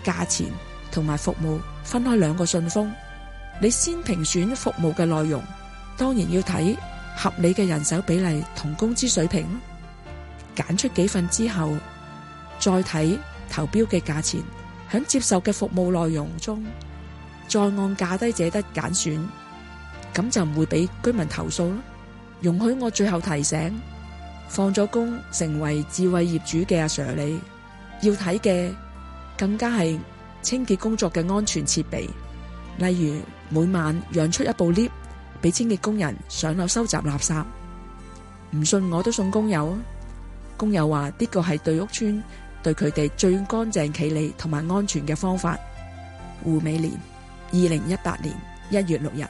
價錢同埋服務分開兩個信封。你先評選服務嘅內容，當然要睇合理嘅人手比例同工資水平。揀出幾份之後，再睇投標嘅價錢，響接受嘅服務內容中，再按價低者得揀選，咁就唔會俾居民投訴啦。容許我最後提醒，放咗工成為智慧業主嘅阿 Sir 你，要睇嘅更加係清潔工作嘅安全設備，例如每晚讓出一部 lift 俾清潔工人上樓收集垃圾。唔信我都送工友啊！工友話呢個係對屋邨對佢哋最乾淨企理同埋安全嘅方法。胡美蓮，2018年1月6日。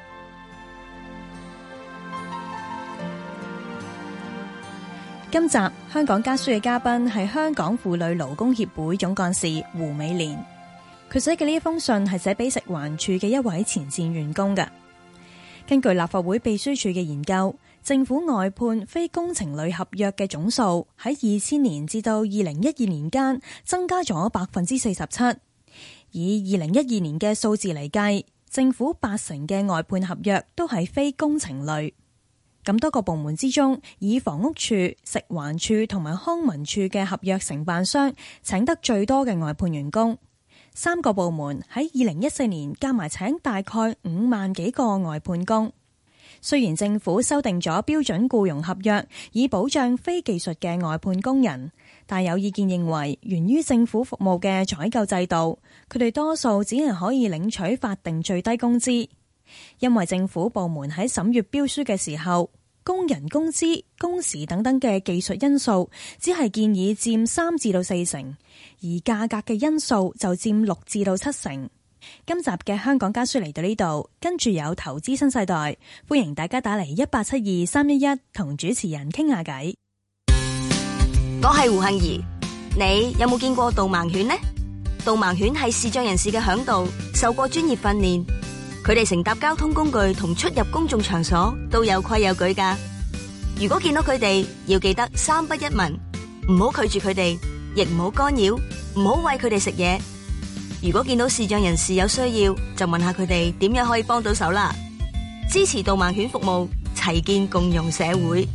今集香港家書嘅嘉賓係香港婦女勞工協會總幹事胡美蓮。佢寫嘅呢一封信係寫俾食環署嘅一位前線員工嘅。根據立法會秘書處嘅研究，政府外判非工程類合約嘅總數喺2000年至到2012年間增加咗47%。以2012年嘅數字嚟計，政府80%嘅外判合約都係非工程類。咁多個部門之中，以房屋署、食環署同埋康文署嘅合約承辦商請得最多嘅外判員工。3個部門喺2014年加埋請大概5萬幾個外判工。雖然政府修訂咗標準僱傭合約以保障非技術嘅外判工人，但有意見認為，源於政府服務嘅採購制度，佢哋多數只係可以領取法定最低工資。因為政府部門喺審閱標書嘅時候，工人工資、工時等等嘅技術因素只係建議佔3至到4成，而價格嘅因素就佔6至到7成。今集嘅香港家書嚟到呢度，跟住有投資新世代，歡迎大家打嚟1872-311同主持人傾下偈。 我係胡杏兒，你有冇見過導盲犬呢？導盲犬係視障人士嘅嚮導，受過專業訓練，佢哋乘搭交通工具同出入公眾場所都有規有矩噶。如果見到佢哋，要記得3不1問，唔好拒絕佢哋，亦唔好干擾，唔好餵佢哋食嘢。如果見到視障人士有需要，就問下佢哋點樣可以幫到手啦。支持導盲犬服務，齊建共融社會。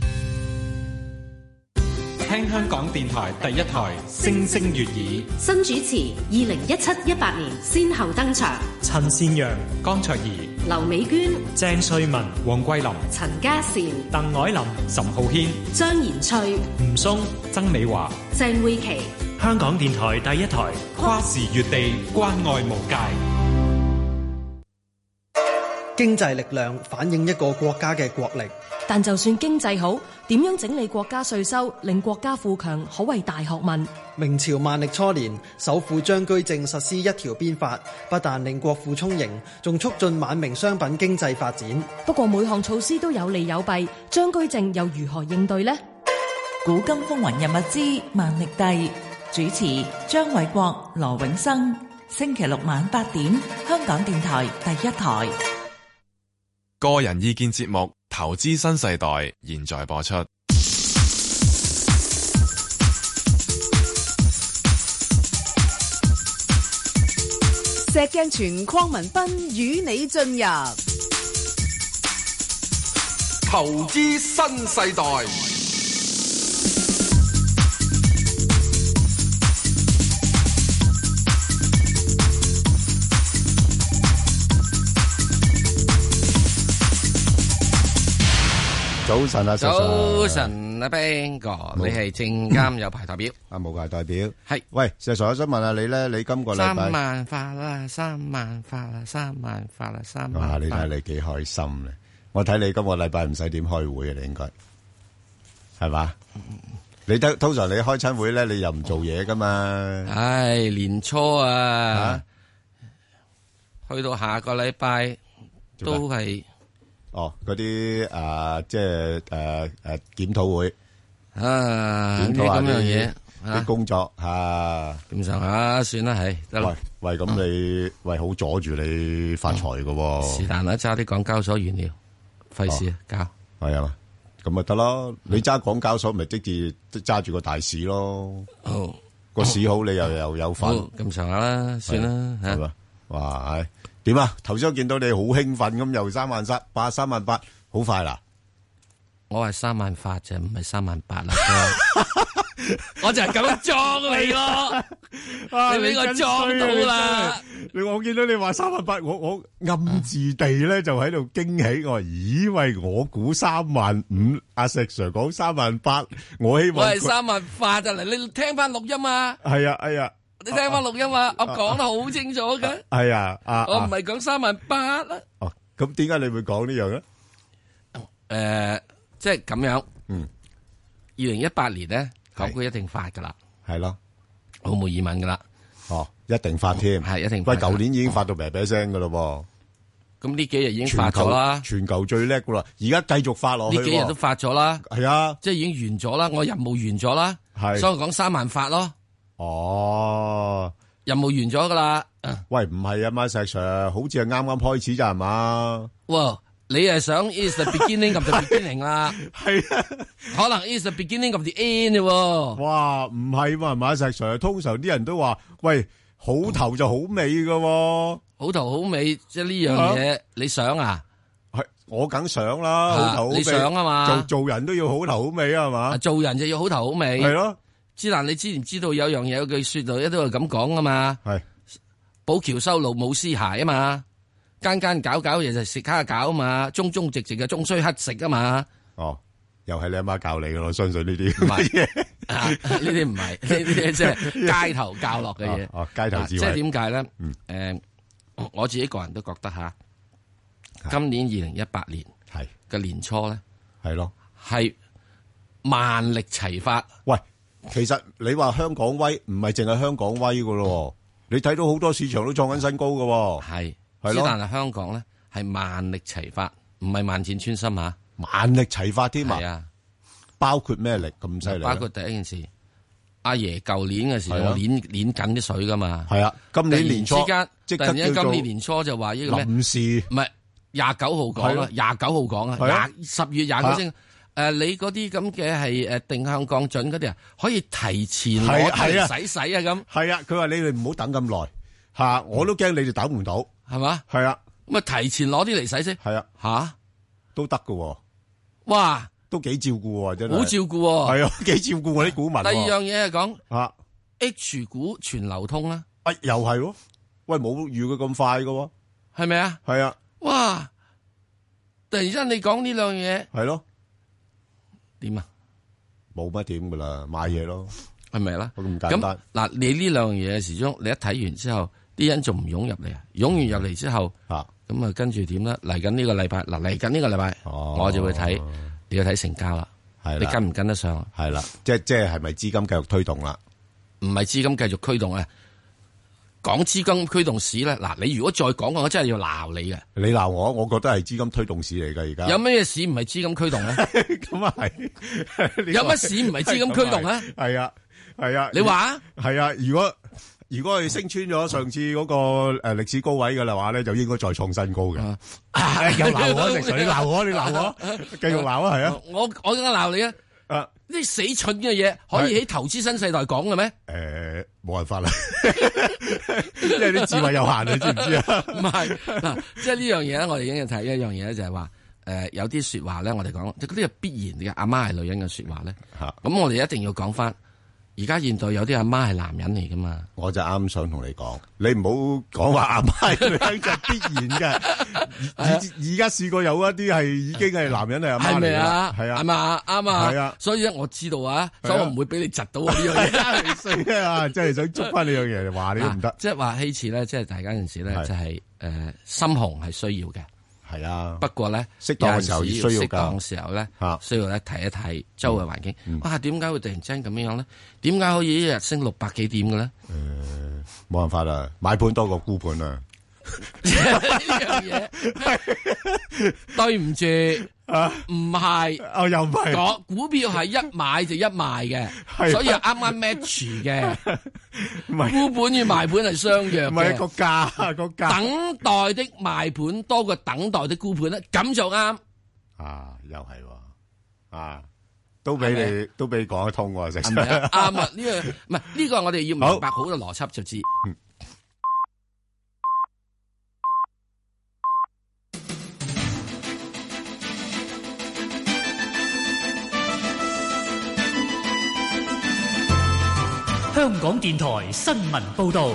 聽香港電台第一台星星粵語， 新主持2017-18年先後登場， 陳善陽、江卓怡、 劉美娟、 鄭瑞文、黃桂林、 陳嘉善、 鄧藹霖、岑浩軒、 張賢翠、 吳松、曾美華、 鄭慧琪。 香港電台第一台，跨時越地，關愛無界。 經濟力量反映一個國家嘅國力， 但就算經濟好，點樣整理國家稅收，令國家富強，可謂大學問。 明朝萬曆初年，首富張居正實施一條鞭法，不但令國富充盈，仲促進晚明商品經濟發展。 不過每項措施都有利有弊，張居正又如何應對呢？ 古今風雲人物之萬曆帝，主持張偉國、羅永生，星期六晚8點，香港電台第一台。 個人意見節目《投資新世代》現在播出。 石鏡泉、鄺民彬與你進入《 投資新世代》。 早晨啊， 早晨啊 ，Ben 哥，你係證監有牌代表啊，冇牌代表係。 喂，石 Sir，我想問下你咧，你今個禮拜 3萬發啦，3萬發啦，3萬發啦，3萬。 哇，你睇你幾開心咧！我睇你今個禮拜唔使點開會啊，你應該係嘛？你通常你開親會咧，你又唔做嘢噶嘛？ 唉，年初啊，去到下個禮拜都係。 哦，嗰啲即係檢討會檢討下咁樣嘢啲工作嚇， 咁上下算啦，係得啦。 喂，咁你好阻住你發財㗎喎。 是但啦，揸啲港交所原料，費事搞係啊嘛，咁咪得咯。你揸港交所咪即係揸住個大市咯。 哦， 個市好，你又有份， 咁上下啦，算啦係嘛？哇，點啊？頭先我見到你好興奮咁，又38000，好快啦！ 我係38000啫，唔係38000啦。我就係咁樣裝你咯，你俾我裝到啦。 我見到你話38000，我暗自地咧就喺度驚喜。我話咦喂，我估35000，阿石 Sir 講38000，我希望我係38000就嚟，你聽翻錄音啊。 係啊，係啊， 你聽翻錄音啊，我講得好清楚嘅。 係啊， 我唔係講38000啦。 哦，咁點解你會講呢樣咧？即係咁樣。2018年咧。港股一定發噶啦， 係咯， 毫無疑問噶啦。 哦，一定發添， 係一定發。 喂，舊年已經發到啤啤聲噶咯噃。咁呢幾日已經發咗啦， 全球最叻噶啦，而家繼續發落去。 呢幾日都發咗啦， 係啊， 即係已經完咗啦，我任務完咗啦， 係， 所以我講3萬發咯。 哦， 任務完咗噶啦。 喂，唔係啊嘛，石 Sir， 好似係啱啱開始咋係嘛？ 哇！你係想 is the beginning of the beginning 啦， 係啊， 可能 is the beginning of the end 喎。 哇，唔係嘛，係嘛，石 Sir， 通常啲人都話，喂，好頭就好尾噶， 好頭好尾，即係呢樣嘢，你想啊？ 係，我梗想啦，好頭好尾， 你想啊嘛？ 做人都要好頭好尾啊嘛？ 做人就要好頭好尾， 係咯。 之但你之前知道有樣嘢有句說道，一都係咁講啊嘛。 係， 寶橋修路冇屍骸啊嘛。間搞嘢就食蝦餃啊嘛，忠直嘅終須乞食啊嘛。 哦，又係你阿媽教你嘅，我相信呢啲。 唔係，呢啲唔係，呢啲即係街頭教落嘅嘢。 哦，街頭智慧。 即係點解咧？我自己個人都覺得吓，今年2018年係嘅年初咧， 係咯， 係萬力齊發。 喂，其實你話香港威，唔係淨係香港威噶咯，你睇到好多市場都創緊新高噶。 係。 係咯， 但係香港咧係萬力齊發，唔係萬箭穿心啊！ 萬力齊發添啊！ 係啊， 包括咩力咁犀利？ 包括第一件事，阿爺舊年嘅時候捻緊啲水噶嘛。 係啊，今年年初突然之間今年年初就話呢個咩？ 臨時唔係29號講啊，29號講啊，10月29先。你嗰啲咁嘅係定向降準嗰啲啊，可以提前攞嚟使啊咁。 係啊，佢話你哋唔好等咁耐吓，我都驚你哋等唔到。 係嘛？ 係啊， 咁啊提前攞啲嚟使先。 係啊， 吓都得噶。 哇， 都幾照顧真係。 好照顧。 係啊，幾照顧我啲股民。 第二樣嘢係講啊 H 股全流通啦。 又係喎，喂，冇預佢咁快噶， 係咪啊？ 係啊。 哇！突然之間你講呢兩樣嘢， 係咯？ 點啊？ 冇乜點噶啦，買嘢咯， 係咪啦？ 咁簡單。 嗱，你呢兩樣嘢始終你一睇完之後。啲人仲唔湧入嚟啊？湧完入嚟之後，咁啊跟住點咧？嚟緊呢個禮拜，嚟緊呢個禮拜，我就會睇，你要睇成交啦。係你跟唔跟得上？ 係啦，即係咪資金繼續推動啦？ 唔係資金繼續驅動啊！講資金驅動市咧，嗱，你如果再講我真係要鬧你嘅。 你鬧我覺得係資金推動市嚟㗎而家。 有咩市唔係資金驅動咧？ 咁啊係。 有乜市唔係資金驅動咧？ 係啊，係啊。 你話？ 係啊，如果佢升穿咗上次嗰個歷史高位嘅啦話咧，就應該再創新高嘅。又鬧我，石 Sir，你鬧我，繼續鬧啊，係啊！ 我而家鬧你啊！呢死蠢嘅嘢可以喺投資新世代講嘅咩？ 冇辦法啦，因為啲智慧有限，你知唔知啊？ 唔係嗱，即係呢樣嘢咧，我哋已經要睇一樣嘢咧，就係話有啲說話咧，我哋講即係嗰啲係必然嘅阿媽係女人嘅說話咧。咁我哋一定要講翻。而家現代有啲阿媽係男人嚟噶嘛？我就啱想同你講，你唔好講話阿媽係女人就必然嘅。而家試過有一啲係已經係男人係阿媽嚟啦，係啊，係嘛，啱啊，係啊。所以咧，我知道啊，所以我唔會俾你窒到呢樣嘢。 衰啊！真係想捉翻呢樣嘢，話你都唔得。 即係話希次咧，即係大家陣時咧，就係心紅係需要嘅。係啊，不過咧， 適當嘅時候需要適當嘅時候咧，需要咧睇一睇周圍環境。哇，點解會突然之間咁樣咧？點解可以一日升600幾點嘅咧？ 冇辦法啦，買盤多過沽盤啊！ 呢樣嘢，對唔住唔係， 又唔係， 講股票係一買就一賣嘅，所以係啱啱 match 嘅。沽盤與賣盤係相約嘅， 唔係個價。 等待的賣盤多過等待的沽盤咧，咁就啱。 又係喎， 都俾你講得通喎， 係咪啊？啱啊！呢個唔係呢個，我哋要明白好嘅邏輯就知。 香港電台新聞報導。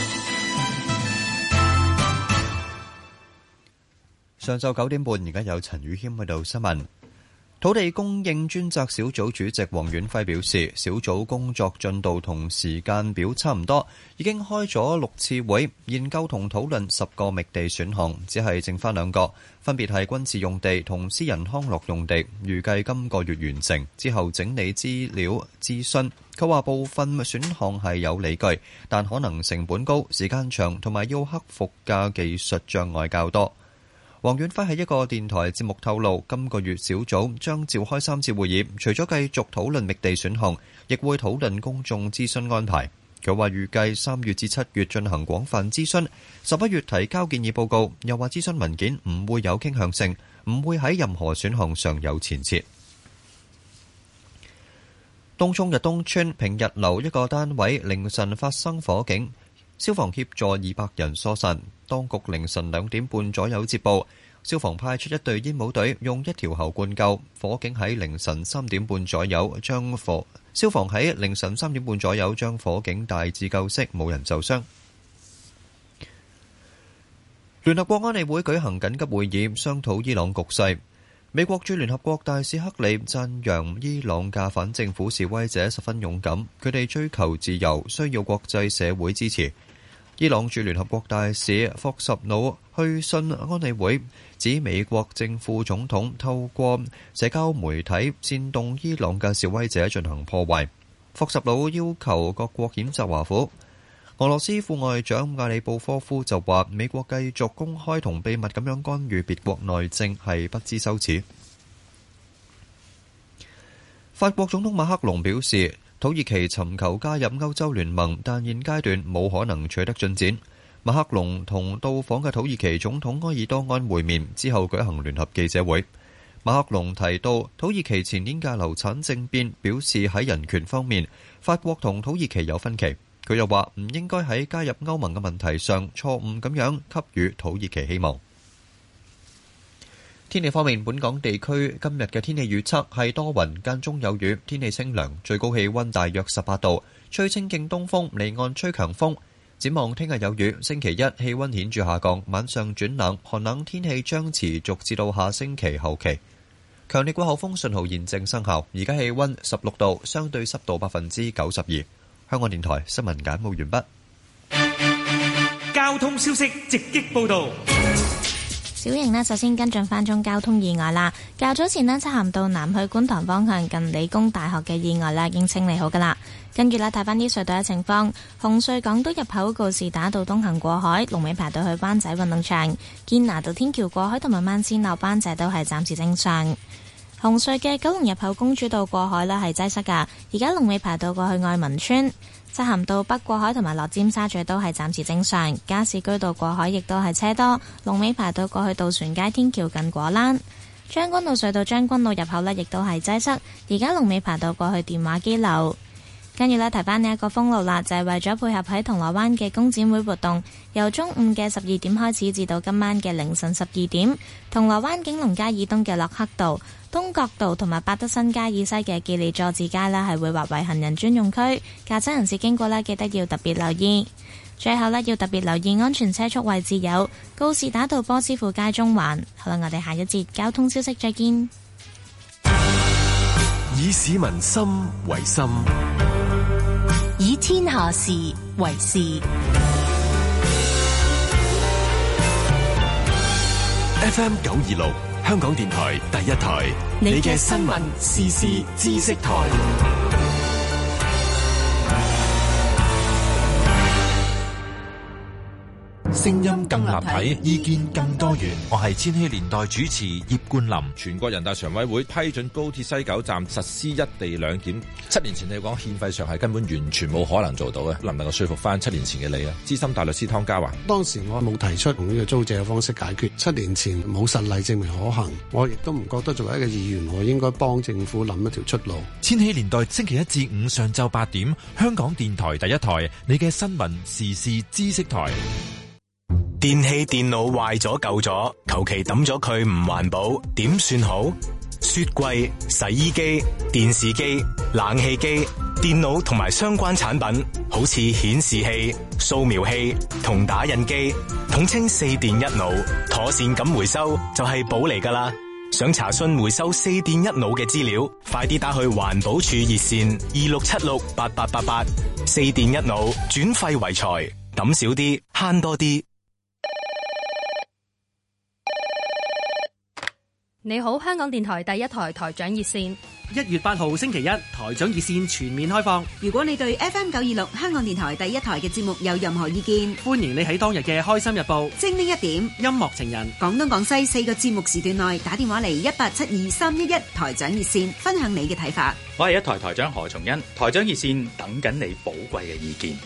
上晝9點半，而家有陳宇謙喺度新聞。土地供應專責小組主席黃遠輝表示，小組工作進度同時間表差唔多，已經開咗6次會，研究同討論10個覓地選項，只係剩返2個，分別係軍事用地同私人康樂用地，預計今個月完成，之後整理資料諮詢。佢話部分選項係有理據，但可能成本高、時間長同埋要克服嘅技術障礙較多。黃遠輝喺一個電台節目透露，今個月小組將召開3次會議，除咗繼續討論覓地選項，亦會討論公眾諮詢安排。佢話預計3月至7月進行廣泛諮詢，11月提交建議報告。又話諮詢文件唔會有傾向性，唔會喺任何選項上有前設。東涌日東村平日樓一個單位凌晨發生火警，消防協助200人疏散。當局凌晨2點半左右接報，消防派出1隊煙霧隊，用1條喉灌救。火警喺凌晨3點半左右消防喺凌晨3點半左右將火警大致救熄，冇人受傷。聯合國安理會舉行緊急會議，商討伊朗局勢。美國駐聯合國大使克里讚揚伊朗嘅反政府示威者十分勇敢，佢哋追求自由，需要國際社會支持。伊朗駐聯合國大使霍什努去信安理會，指美國正副總統透過社交媒體煽動伊朗嘅示威者進行破壞。霍什努要求各國譴責華府。俄羅斯副外長亞里布科夫就話，美國繼續公開同秘密咁樣干預別國內政係不知羞恥。法國總統馬克龍表示，土耳其尋求加入歐洲聯盟，但現階段冇可能取得進展。馬克龍同到訪嘅土耳其總統埃爾多安會面之後舉行聯合記者會。馬克龍提到土耳其前年嘅流產政變，表示喺人權方面，法國同土耳其有分歧。佢又話唔應該喺加入歐盟嘅問題上錯誤咁樣給予土耳其希望。天氣方面，本港地區今日嘅天氣預測係多雲間中有雨，天氣清涼，最高氣溫大約18度，吹清勁東風，離岸吹強風。展望聽日有雨，星期一氣溫顯著下降，晚上轉冷，寒冷天氣將持續至到下星期後期。強烈季候風信號現正生效，而家氣溫16度，相對濕度92%。香港電台新聞簡報完畢。交通消息直擊報道。 小瑩呢，首先跟進翻宗交通意外啦。較早前呢，漆咸道南去觀塘方向近理工大學嘅意外啦，已經清理好噶啦。跟住呢，睇翻啲隧道嘅情況。紅隧港島入口告士打道東行過海，龍尾排到去灣仔運動場；堅拿道天橋過海同埋慢線落灣仔都係暫時正常。紅隧嘅九龍入口公主道過海呢係擠塞噶，而家龍尾排到過去愛民村。漆咸道北過海同埋落尖沙咀都係暫時正常，加士居道過海亦都係車多，龍尾排到過去渡船街天橋近果欄。將軍澳隧道將軍澳入口呢亦都係擠塞，而家龍尾排到過去電話機樓。跟住呢，提翻呢一個封路啦，就係為咗配合喺銅鑼灣嘅工展會活動，由中午嘅12點開始至到今晚嘅凌晨12點，銅鑼灣景隆街以東嘅洛克道、東角道同埋百德新街以西嘅記利佐治街呢係會劃為行人專用區，駕駛人士經過呢記得要特別留意。最後呢，要特別留意安全車速位置有告士打道波斯富街中環。好啦，我哋下一節交通消息再見。 以市民心為心， 以天下事為事。 FM 926香港電台第一台，你嘅新聞時事知識台。 聲音更立體，意見更多元。我係千禧年代主持葉冠霖。 全國人大常委會批准高鐵西九站實施一地兩檢。7年前你講憲費上係根本完全冇可能做到嘅，能唔能夠說服翻7年前嘅你啊？資深大律師湯家華， 當時我冇提出用呢個租借嘅方式解決。7年前冇實例證明可行，我亦都唔覺得作為一個議員，我應該幫政府諗一條出路。 千禧年代星期1至5上晝8點，香港電台第一台，你嘅新聞時事知識台。 電器電腦壞咗舊咗，求其抌咗佢唔環保，點算好？雪櫃、洗衣機、電視機、冷氣機、電腦同埋相關產品，好似顯示器、掃描器同打印機，統稱4電一腦，妥善咁回收就係寶嚟㗎啦。想查詢回收4電一腦嘅資料，快啲打去環保署熱線26768888。4電一腦，轉廢為財，抌少啲，慳多啲。 你好，香港電台第一台台長熱線。 1月8號星期一，台長熱線全面開放。 如果你對 FM926 香港電台第一台嘅節目有任何意見， 歡迎你喺當日嘅開心日報、 精靈一點、 音樂情人、 廣東廣西4個節目時段內打電話嚟1872311台長熱線，分享你嘅睇法。 我係一台台長何松恩，台長熱線等緊你寶貴嘅意見。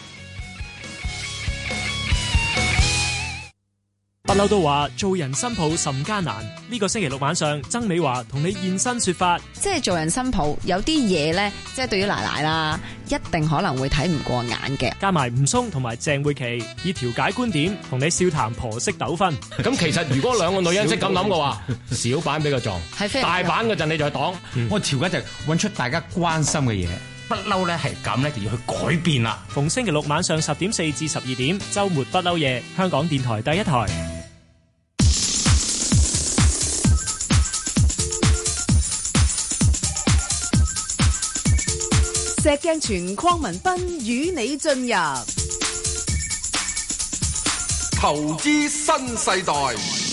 不嬲都話做人新抱甚艱難，呢個星期六晚上，曾美華同你現身說法。 即係做人新抱有啲嘢呢，即係對於奶奶啦，一定可能會睇唔過眼嘅。 加埋吳松同埋鄭慧琪以調解觀點同你笑談婆媳糾紛。 咁其實如果兩個女人識咁諗嘅話，小板俾佢撞，大板嗰陣你就係擋。 我調解就揾出大家關心嘅嘢。不嬲咧係咁咧，就要去改變啦。 逢星期六晚上10點4至12點，週末不嬲夜，香港電台第一台。 石鏡泉鄺民彬與你進入投資新世代。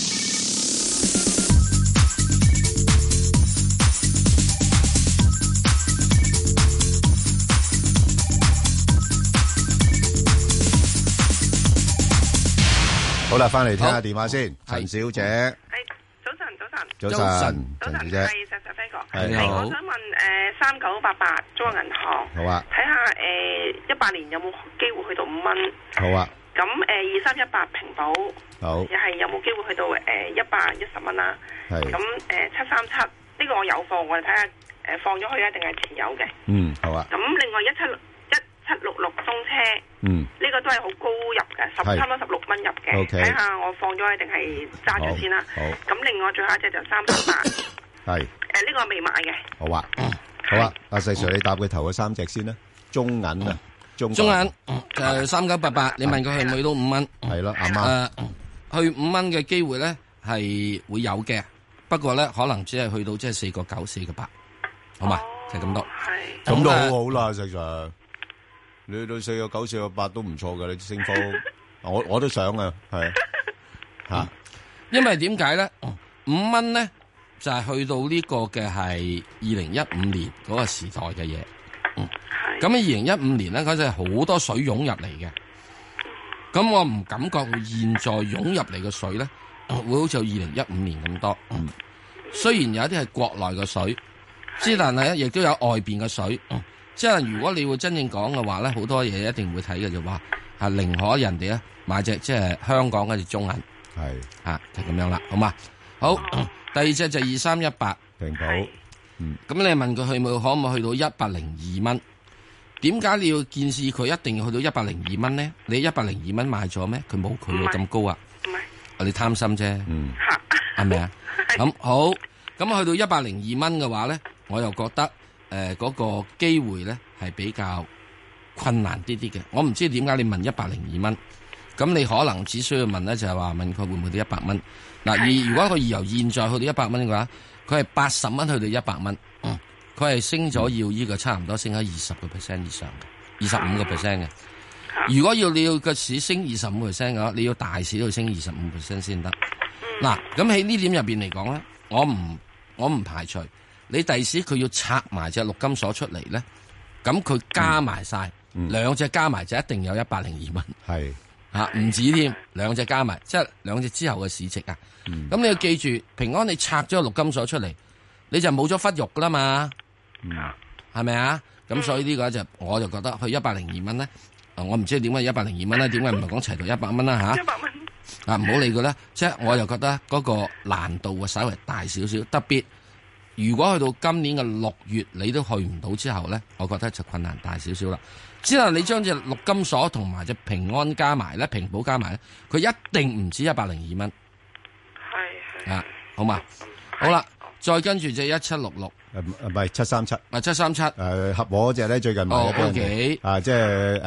好啦，翻嚟聽下電話先，陳小姐。早晨，陳小姐， 係石 Sir 飛哥， 係你好。 我想問3988中國銀行， 好啊， 睇下18年有冇機會去到5蚊？ 好啊。 咁2318平保， 好， 又係有冇機會去到110蚊啦？ 係。 咁737呢個我有貨，我哋睇下放咗去啊，定係持有嘅？ 嗯，好啊。 咁另外1766中車，呢個都係好高入嘅，差唔多16蚊入嘅。睇下我放咗定係揸住先啦。 好。 咁另外最後一隻就388， 係呢個未買嘅。 好啊，好啊，阿細 Sir，你答佢頭嗰三隻先啦。中銀啊，中銀3988，你問佢去唔去到5蚊？ 係咯，阿媽。 去5蚊嘅機會咧係會有嘅，不過咧可能只係去到即係4.9、4.8，好嘛？就咁多。 係。咁都好好啦，細 Sir。你去到4.9、4.8都唔錯嘅，你升幅，我都想啊，係吓。 因為點解咧？5蚊咧就係去到呢個嘅係2015年嗰個時代嘅嘢。咁喺2015年咧，嗰陣係好多水湧入嚟嘅。咁我唔感覺佢現在湧入嚟嘅水咧，會好似2015年咁多。雖然有一啲係國內嘅水，之但係咧亦都有外邊嘅水。即係如果你會真正講嘅話咧，好多嘢一定會睇嘅就話係寧可人哋咧買隻即係香港嗰隻中銀，係就咁樣啦，好嘛？好，第二隻就2318 平保， 咁你問佢去冇可唔可以去到102蚊？點解你要建議佢一定要去到102蚊咧？你102蚊買咗咩？佢冇佢咁高啊！唔係，你貪心啫，係咪啊？咁好，咁去到102蚊嘅話咧，我又覺得。嗰個機會咧係比較困難啲啲嘅，我唔知點解你問102蚊，咁你可能只需要問咧就係話問佢會唔會到100蚊。嗱，而如果佢由現在去到100蚊嘅話，佢係80蚊去到100蚊，佢係升咗要呢個差唔多升咗20% 以上嘅，25% 嘅。如果你要個市升25% 嘅話，你要大市都要升25% 先得。嗱，咁喺呢點入邊嚟講咧，我唔排除。你第時佢要拆埋隻陸金所出嚟咧，咁佢加埋晒兩隻加埋就一定有102蚊。 係唔止添，兩隻加埋，即係兩隻之後嘅市值啊。咁你要記住，平安你拆咗個陸金所出嚟，你就冇咗忽肉噶啦嘛，係咪啊？咁所以呢個就我就覺得去102蚊咧，我唔知點解102蚊咧，點解唔係講齊到100蚊啦吓？100蚊啊，唔好理佢啦。即係我又覺得嗰個難度會稍微大少少，特別如果去到今年嘅6月你都去唔到之後咧，我覺得就困難大少少啦。之後你將隻陸金所同埋隻平安加埋咧，平保加埋咧，佢一定唔止102蚊。係啊，好嘛？好啦，再跟住隻1766， 唔係737， 737， 合和嗰隻咧最近買咗 ，OK， 即係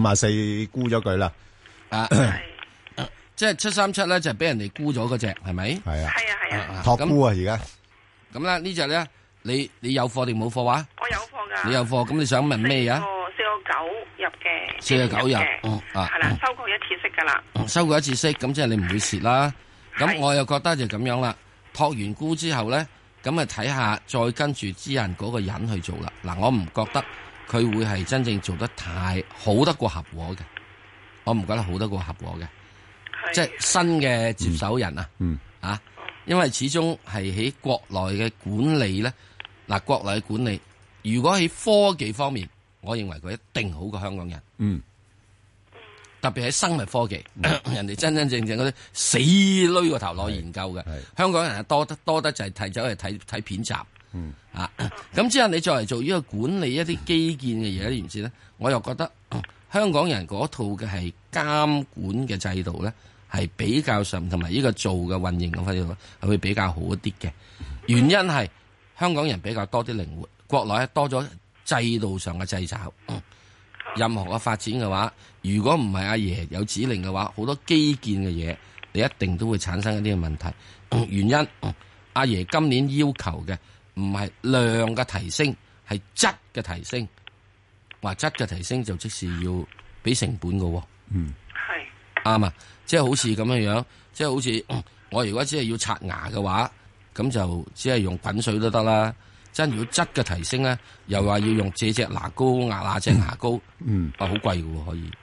54沽咗佢啦， 即係737咧就係俾人哋沽咗嗰隻，係咪？ 係啊， 係啊， 託沽啊而家。 咁咧呢隻咧，你有貨定冇貨話？ 我有貨噶。 你有貨，咁你想問咩啊 ？4.9入嘅。 4.9入， 係啦，收過一次息噶啦。 收過一次息，咁即係你唔會蝕啦。咁我又覺得就咁樣啦。托完沽之後咧，咁啊睇下再跟住之人嗰個人去做啦。嗱，我唔覺得佢會係真正做得太好得過合和嘅，我唔覺得好得過合和嘅，即係新嘅接手人啊，因為始終係喺國內嘅管理咧，嗱，國內嘅管理，如果喺科技方面，我認為佢一定好過香港人。特別喺生物科技，人哋真真正正嗰啲死攣個頭攞研究嘅，香港人係多得就係睇走去睇片集。咁之後你再嚟做呢個管理一啲基建嘅嘢，你唔知咧？我又覺得香港人嗰套嘅係監管嘅制度咧，係比較上同埋呢個做嘅運營嘅制度係會比較好一啲嘅。原因係香港人比較多啲靈活，國內多咗制度上嘅掣肘。任何嘅發展嘅話，如果唔係阿爺有指令嘅話，好多基建嘅嘢，你一定都會產生一啲嘅問題。原因阿爺今年要求嘅唔係量嘅提升，係質嘅提升。話質嘅提升就即是要俾成本嘅。係啱啊！即係好似咁樣樣，即係好似我如果只係要刷牙嘅話，咁就只係用滾水都得啦。真如果質嘅提升咧，又話要用這隻牙膏壓那隻牙膏，好貴嘅可以。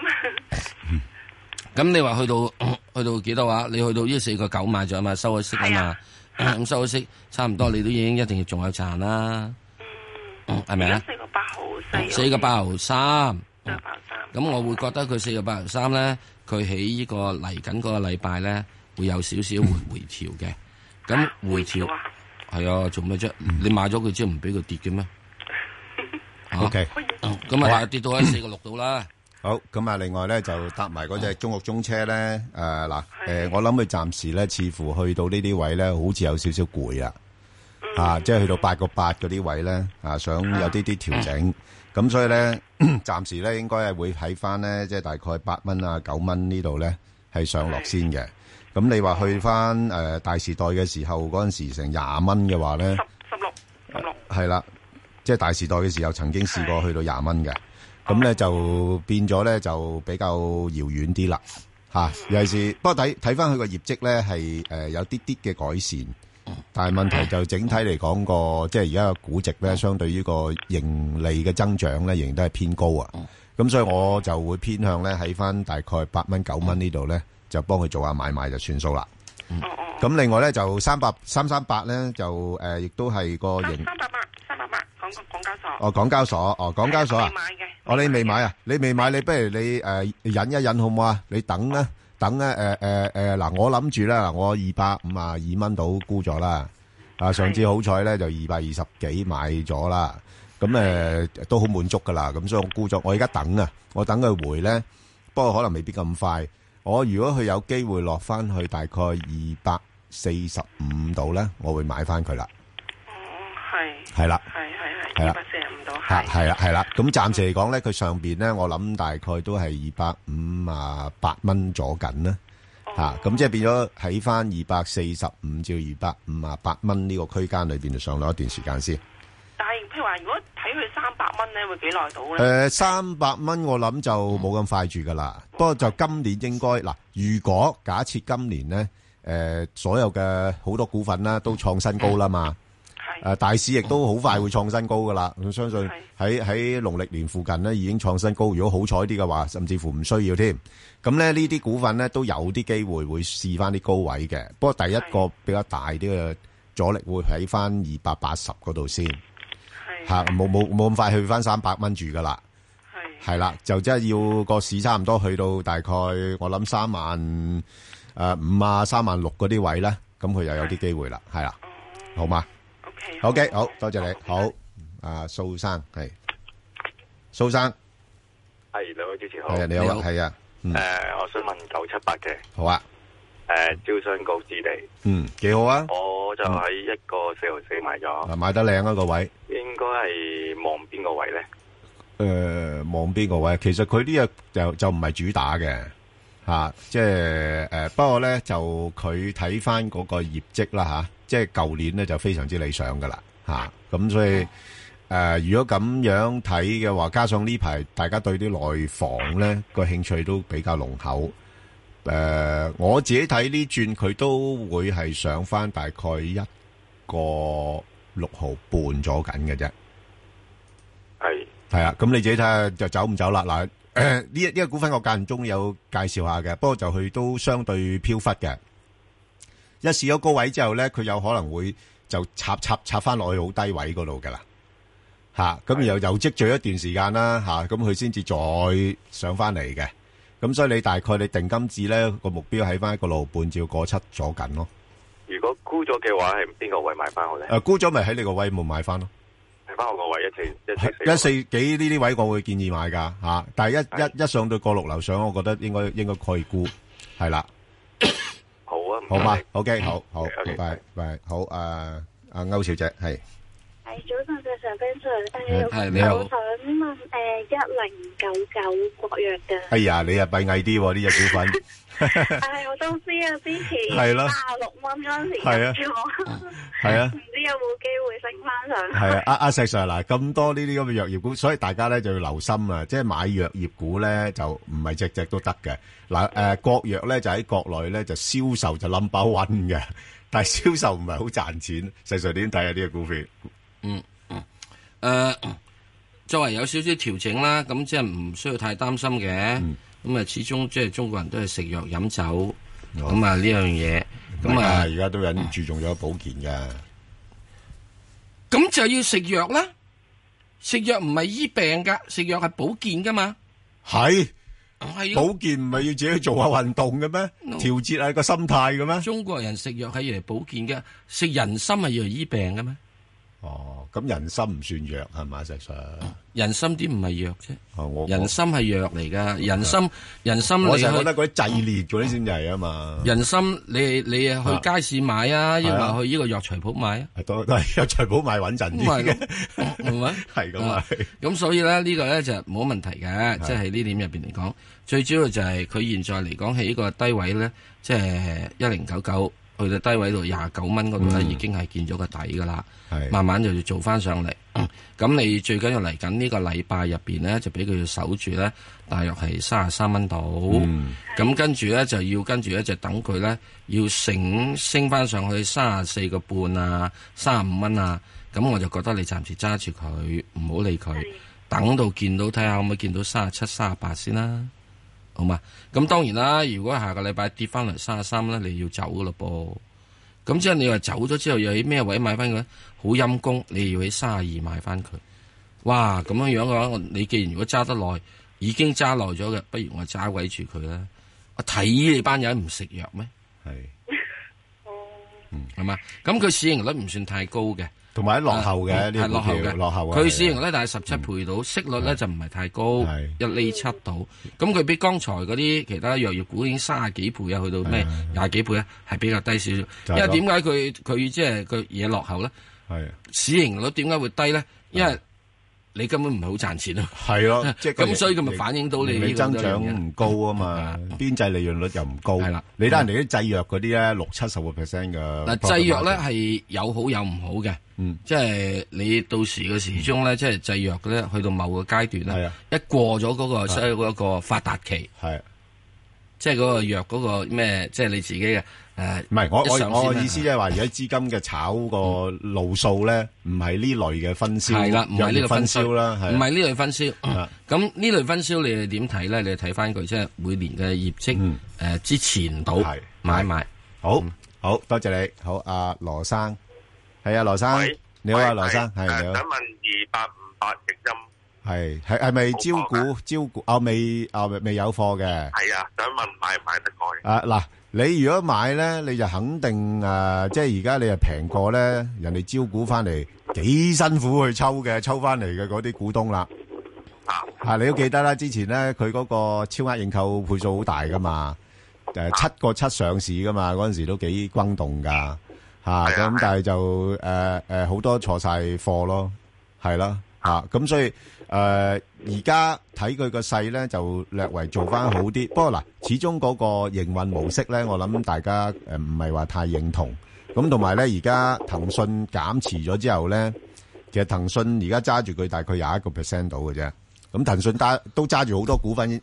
咁你話去到幾多話？你去到呢4.9買咗嘛？收咗息啊嘛？咁收咗息，差唔多你都已經一定要仲有賺啦。係咪啊？4.803。咁我會覺得佢4.803咧，佢喺呢個嚟緊嗰個禮拜咧，會有少少回調嘅。咁回調。係啊，做咩啫？你買咗佢之後唔俾佢跌嘅咩？OK，咁啊跌到喺4.6度啦。 好，咁啊另外咧就搭埋嗰隻中國中車咧，我諗佢暫時咧似乎去到呢啲位咧，好似有少少攰啊，即係去到8.8嗰啲位咧，想有啲調整。咁所以咧，暫時咧應該係會喺翻咧，即係大概8蚊啊9蚊呢度咧係上落先嘅。咁你話去翻大時代嘅時候嗰陣時成20蚊嘅話咧，16係啦，即係大時代嘅時候曾經試過去到20蚊嘅，咁咧就變咗咧就比較遙遠啲啦嚇。尤其是不過睇翻佢個業績咧係有啲啲嘅改善，但係問題就整體嚟講個即係而家個估值咧，相對於個盈利嘅增長咧，仍然都係偏高啊。咁所以我就會偏向咧喺翻大概8蚊9蚊呢度咧。就幫佢做下買賣就算數啦。咁另外咧就338咧就亦都係個型。388港交所。港交所，港交所啊。未買嘅。你未買啊？你未買，你不如你忍一忍好唔好啊？你等咧，嗱，我諗住咧，我252蚊到沽咗啦。上次好彩咧就220幾買咗啦。咁都好滿足噶啦。咁所以我沽咗，我而家等啊，我等佢回咧，不過可能未必咁快。我如果佢有機會落翻去大概245度咧，我會買翻佢啦。係啦，係啦，245度係啦。咁暫時嚟講咧，佢上邊咧，我諗大概都係258蚊左緊啦。咁即係變咗喺翻245至258蚊呢個區間裏邊就上落一段時間先。 但係譬如話，如果睇佢300蚊咧，會幾耐到咧 ？300蚊我諗就冇咁快住噶啦。不過就今年應該嗱，如果假設今年咧，所有嘅好多股份啦都創新高啦嘛， 大市亦都好快會創新高噶啦。我相信喺農曆年附近咧已經創新高。如果好彩啲嘅話，甚至乎唔需要添。咁咧呢啲股份咧都有啲機會會試翻啲高位嘅。不過第一個比較大啲嘅阻力會喺翻280嗰度先。嚇，冇咁快去翻300蚊住噶啦。係啦，就即係要個市差唔多去到大概我諗35000、36000嗰啲位咧，咁佢又有啲機會啦，係啦，好嘛？OK，好多謝你，好，蘇生係，蘇生， 係兩位主持好， 係啊，你好，係啊， 我想問978嘅， 好啊， 招商局置地， 幾好啊， 我就喺1.464買咗， 買得靚啊個位， 應該係望邊個位咧？ 望邊個位？其實佢呢個就唔係主打嘅，即係不過咧就佢睇翻嗰個業績啦，即係舊年咧就非常之理想噶啦，咁所以如果咁樣睇嘅話，加上呢排大家對啲內房咧個興趣都比較濃厚，我自己睇呢轉佢都會係上翻大概1.6毫半咗緊嘅啫，係啊，咁你自己睇下就走唔走啦。嗱，呢個股份我間中有介紹下嘅，不過就佢都相對飄忽嘅。一試咗高位之後咧，佢有可能會就插翻落去好低位嗰度噶啦，咁然後又積聚一段時間啦，咁佢先至再上翻嚟嘅。咁所以你大概你定金字咧個目標喺翻1.6毫半至1.7左緊咯。 如果沽咗嘅話，係邊個位買翻好咧？ 沽咗咪喺你個位冇買翻咯。 翻我個位 1.4幾呢啲位我會建議買噶但係一上到1.6樓上，我覺得應該可以沽，係啦。 好啊， 好嘛 ，OK， 好，拜，好，歐小姐係。 早晨，Ben Sir，你好，我想問1099國藥嘅。 哎呀，你啊閉翳啲呢隻股份。 我都知啊，之前係咯 36蚊嗰陣時入咗， 係啊， 唔知有冇機會升翻上去？ 係啊，阿石 Sir 嗱，咁多呢啲咁嘅藥業股，所以大家咧就要留心啊，即係買藥業股咧就唔係隻隻都得嘅。嗱，國藥咧就喺國內咧就銷售就 number one 嘅，但係銷售唔係好賺錢。石 Sir 點睇啊？呢個股票？ 作為有少少調整啦，咁即係唔需要太擔心嘅。咁始終即係中國人都係食藥飲酒，咁呢樣嘢，咁而家都有人注重咗保健嘅。 咁就要食藥啦，食藥唔係醫病噶，食藥係保健噶嘛。 係保健唔係要自己去做下運動嘅咩？調節下個心態嘅咩？ 中國人食藥係要嚟保健嘅，食人參係要嚟醫病嘅咩？ 咁人參唔算藥係嘛？實際上人參啲唔係藥啫，人參係藥嚟噶。人參我成日覺得嗰啲製劣嗰啲先係啊嘛。 人參你去街市買啊，抑或去呢個藥材鋪買啊？ 都係藥材鋪買穩陣啲嘅， 係咪？係咁啊。咁所以咧呢個咧就冇問題嘅，即係呢點入邊嚟講，最主要就係佢現在嚟講喺呢個低位咧，即係1099。去到低位度29蚊嗰度咧，已經係見咗個底噶啦，慢慢就要做翻上嚟。咁你最緊要嚟緊呢個禮拜入邊咧，就俾佢要守住咧，大約係33蚊度。咁跟住咧就要跟住咧就等佢咧要升翻上去34個半啊，35蚊啊。咁我就覺得你暫時揸住佢，唔好理佢，等到見到睇下可唔可以見到37、38先啦。好嘛？咁當然啦，如果下個禮拜跌翻嚟33咧，你要走噶咯噃。咁即係你話走咗之後，又喺咩位買翻佢？好陰功，你要喺32買翻佢。哇！咁樣樣嘅話，你既然如果揸得耐，已經揸耐咗嘅，不如我揸位住佢啦。我睇你班人唔食藥咩？係嘛？咁佢市盈率唔算太高嘅。同埋落後嘅，係落後嘅，落後嘅。佢市盈率大概17倍到，息率咧就唔係太高，1厘7到。咁佢比剛才嗰啲其他藥業股已經30幾倍啊，去到咩20幾倍咧，係比較低少少。因為點解佢即係佢嘢落後咧？係市盈率點解會低咧？因為你根本唔係好賺錢咯。係咯，即係咁，所以佢咪反映到你增長唔高啊嘛，邊際利潤率又唔高。係啦，你睇人哋啲製藥嗰啲咧60-70%嘅。嗱， 製藥咧係有好有唔好嘅。即係你到時嘅時鐘咧，即係製藥咧，去到某個階段咧，一過咗嗰個發達期， 即係嗰個藥嗰個咩？即係你自己嘅唔係我意思即係話，而家資金嘅炒個路數咧，唔係呢類嘅分銷， 係啦，唔係呢個分銷啦， 唔係呢類分銷。咁呢類分銷你哋點睇咧？你睇翻佢即係每年嘅業績之前到買賣。好多謝你。好，阿羅生，係啊，羅生，你好啊，羅生，係你好。 想問2858直音係咪招股未有貨嘅？ 係啊，想問買唔買得過嘅？ 嗱，你如果買咧，你就肯定即係而家你係平過咧，人哋招股翻嚟幾辛苦去抽翻嚟嘅嗰啲股東啦。你都記得啦，之前咧佢嗰個超額認購倍數好大噶嘛，7個7上市噶嘛，嗰陣時都幾轟動噶咁但係就好多錯晒貨咯，係啦咁所以而家睇佢個勢咧就略為做翻好啲，不過嗱，始終嗰個營運模式咧，我諗大家唔係話太認同，咁同埋咧而家騰訊減持咗之後咧，其實騰訊而家揸住佢大概21% 到嘅啫，咁騰訊都揸住好多股份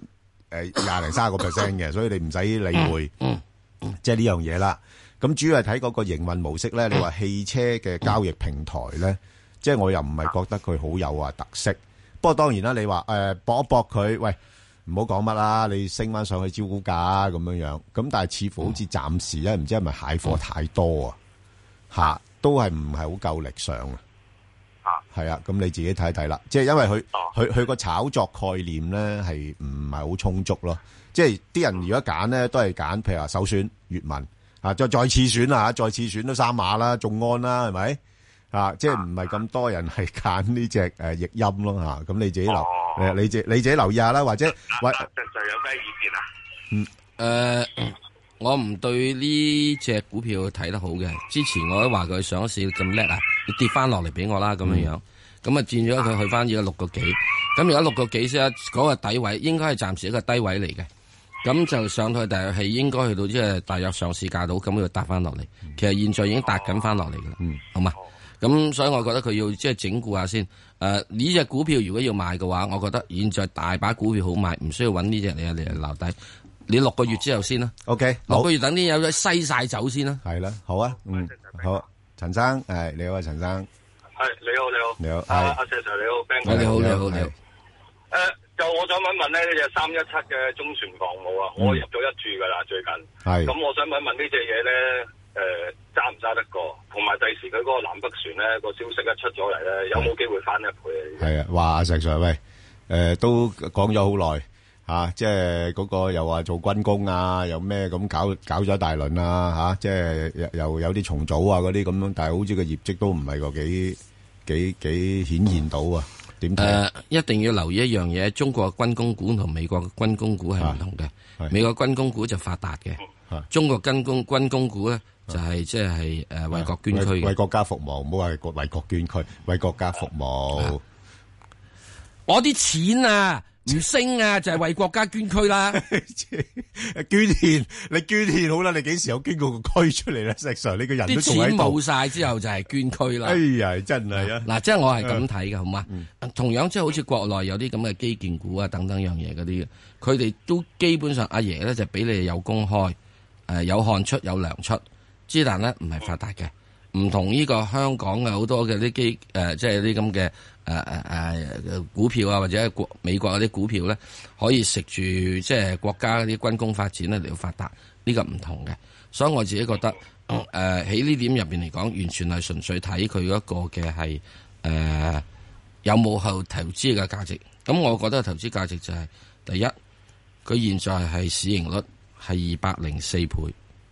20-30% 嘅，所以你唔使理會即係呢樣嘢啦。咁主要係睇嗰個營運模式咧，你話汽車嘅交易平台咧，即係我又唔係覺得佢好有特色。不過當然啦，你話搏一搏佢，喂，唔好講乜啦，你升翻上去招股價咁樣，咁但係似乎好似暫時咧，唔知係咪蟹貨太多都係唔係好夠力上係啊，咁你自己睇睇啦。即係因為佢個炒作概念咧係唔係好充足咯。即係啲人如果揀咧，都係揀譬如話首選粵文再次選再次選都3碼啦，眾安啦，係咪？即係唔係咁多人係揀呢隻譯音咯咁你自己你自己留意下啦，或者實在有咩意見我唔對呢隻股票睇得好嘅。之前我都話佢上市咁叻你跌翻落嚟俾我啦咁樣咁佔咗佢去翻而家6個幾，咁而家6個幾先嗰個底位應該係暫時一個低位嚟嘅，咁就上去大約係應該去到即係大約上市價到，咁佢搭翻落嚟。其實現在已經搭緊翻落嚟噶啦，好嘛？咁所以我覺得佢要即係整固下先。呢隻股票如果要買嘅話，我覺得現在大把股票好買，唔需要揾呢隻嚟留底。你6個月之後先啦。 OK， 6個月等啲有咗西晒走先啦。 係啦，好啊，好，陳生，你好啊，陳生。 你好。阿 Sir 你好 ，Ben 哥你好。 就我想問咧，呢隻317嘅中船防務我入咗1注噶啦，最近。係。咁我想問呢隻嘢咧，揸唔揸得過？同埋第時佢嗰個南北船咧個消息一出咗嚟咧，有冇機會翻1倍？係啊， 話阿石 Sir 喂，都講咗好耐即係嗰個又話做軍工又咩咁搞咗一大輪即係又有啲重組嗰啲咁樣，但係好似個業績都唔係個幾顯現到點睇？ 一定要留意一樣嘢，中國嘅軍工股同美國嘅軍工股係唔同嘅。美國軍工股就發達嘅，中國軍工股咧就係即係為國捐軀嘅， 為國家服務，唔好話為國捐軀，為國家服務。 我啲錢唔升就係為國家捐軀啦。 捐獻，你捐獻好啦，你幾時有捐過個軀出嚟咧？石 Sir，你個人都仲喺度。啲錢冇晒之後就係捐軀啦。哎呀，真係嗱，即係我係咁睇嘅，好嘛？同樣即係好似國內有啲咁嘅基建股等等樣嘢嗰啲，佢哋都基本上阿爺咧就俾你有公開，有汗出有糧出，之但咧唔係發達嘅。唔同呢個香港嘅好多嘅啲即係啲咁嘅股票或者美國嗰啲股票咧，可以食住即係國家嗰啲軍工發展咧嚟到發達，呢個唔同嘅。所以我自己覺得喺呢點入邊嚟講，完全係純粹睇佢嗰個嘅係有冇後投資嘅價值。咁我覺得投資價值就係第一，佢現在係市盈率係204倍。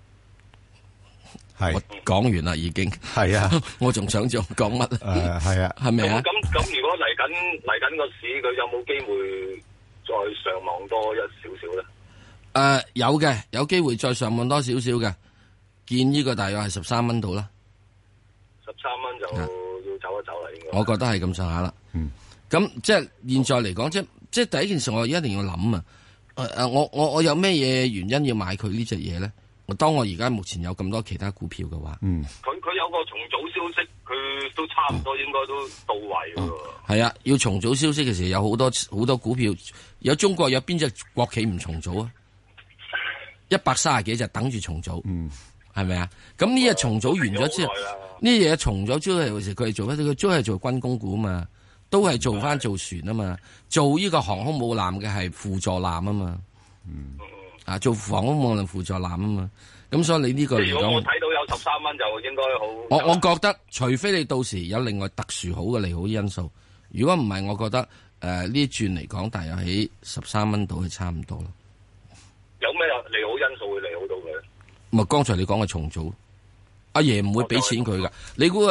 我講完啦，已經係啊！ 我仲想講乜？ 係啊， 係咪啊？ 咁如果嚟緊個市，佢有冇機會再上望多一少少咧？ 有嘅，有機會再上望多少少嘅。見呢個大約係13蚊度啦。 13蚊就要走一走啦，應該。 我覺得係咁上下啦。咁即係現在嚟講，即係第一件事，我一定要諗我有咩嘢原因要買佢呢隻嘢咧？當我而家目前有咁多其他股票嘅話， 佢有個重組消息，佢都差唔多應該都到位喎。 係啊，要重組消息嘅時候，有好多股票，有中國有邊隻國企唔重組啊？ 130幾就等住重組，係咪啊？咁呢日重組完咗之後，呢嘢重咗之後，佢係做乜？佢都係做軍工股嘛，都係做翻做船啊嘛，做呢個航空母艦嘅係輔助艦啊嘛，做航空母艦輔助艦啊嘛。咁所以你呢個嚟講， 如果我睇到有13蚊就應該好。 我覺得，除非你到時有另外特殊好嘅利好因素，如果唔係，我覺得呢一轉嚟講，大約喺13蚊度係差唔多咯。 有咩利好因素會利好到佢？ 咪剛才你講嘅重組，阿爺唔會俾錢佢噶。你估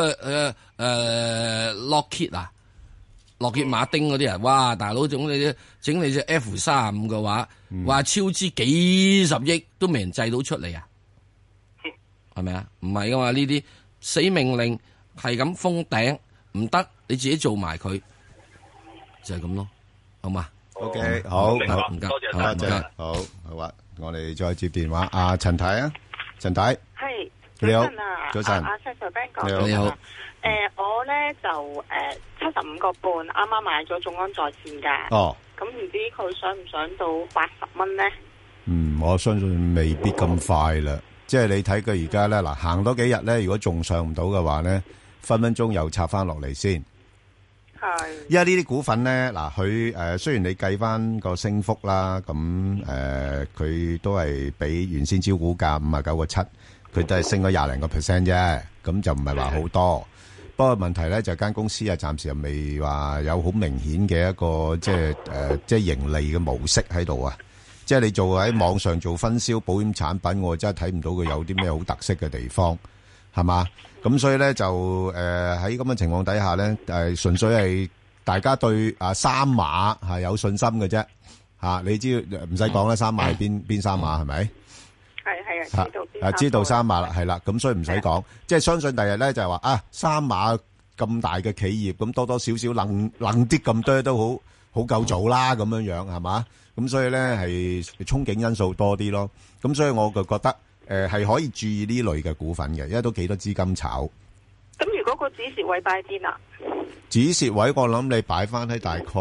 Lockheed 啊，洛歇馬丁嗰啲人，哇！大佬整你隻 F-35嘅話，話超支幾十億都未人製到出嚟啊！係咪啊？唔係噶嘛，呢啲死命令係咁封頂，唔得，你自己做埋佢，就係咁咯，好嘛 ？OK， 好，唔該， 多謝， 好啊，我哋再接電話，阿陳太啊，陳太， 係， 你好， 早晨，阿 Sir Ben 哥， 你好， 我咧就75個半，啱啱買咗眾安在線噶， 哦， 咁唔知佢上唔上到80蚊咧？ 我相信未必咁快啦。即係你睇佢而家咧，嗱行多幾日咧，如果仲上唔到嘅話咧，分分鐘又插翻落嚟先。 係。 因為呢啲股份咧，嗱佢雖然你計翻個升幅啦，咁佢都係比原先招股價59個7，佢都係升咗20零個%啫，咁就唔係話好多。不過問題咧就間公司啊，暫時又未話有好明顯嘅一個即係盈利嘅模式喺度啊。即係你做喺網上做分銷保險產品，我真係睇唔到佢有啲咩好特色嘅地方，係嘛？咁所以咧就喺咁嘅情況底下咧，純粹係大家對三馬係有信心嘅啫嚇。你知唔使講啦，三馬係邊三馬係咪？係知道三馬啦，係啦。咁所以唔使講，即係相信第日咧就係話三馬咁大嘅企業，咁多多少少冷啲咁多都好夠做啦，咁樣樣係嘛？咁所以咧係憧憬因素多啲咯，咁所以我就覺得係可以注意呢類嘅股份嘅，因為都幾多資金炒。 咁如果個止蝕位擺邊啊？ 止蝕位我諗你擺翻喺大概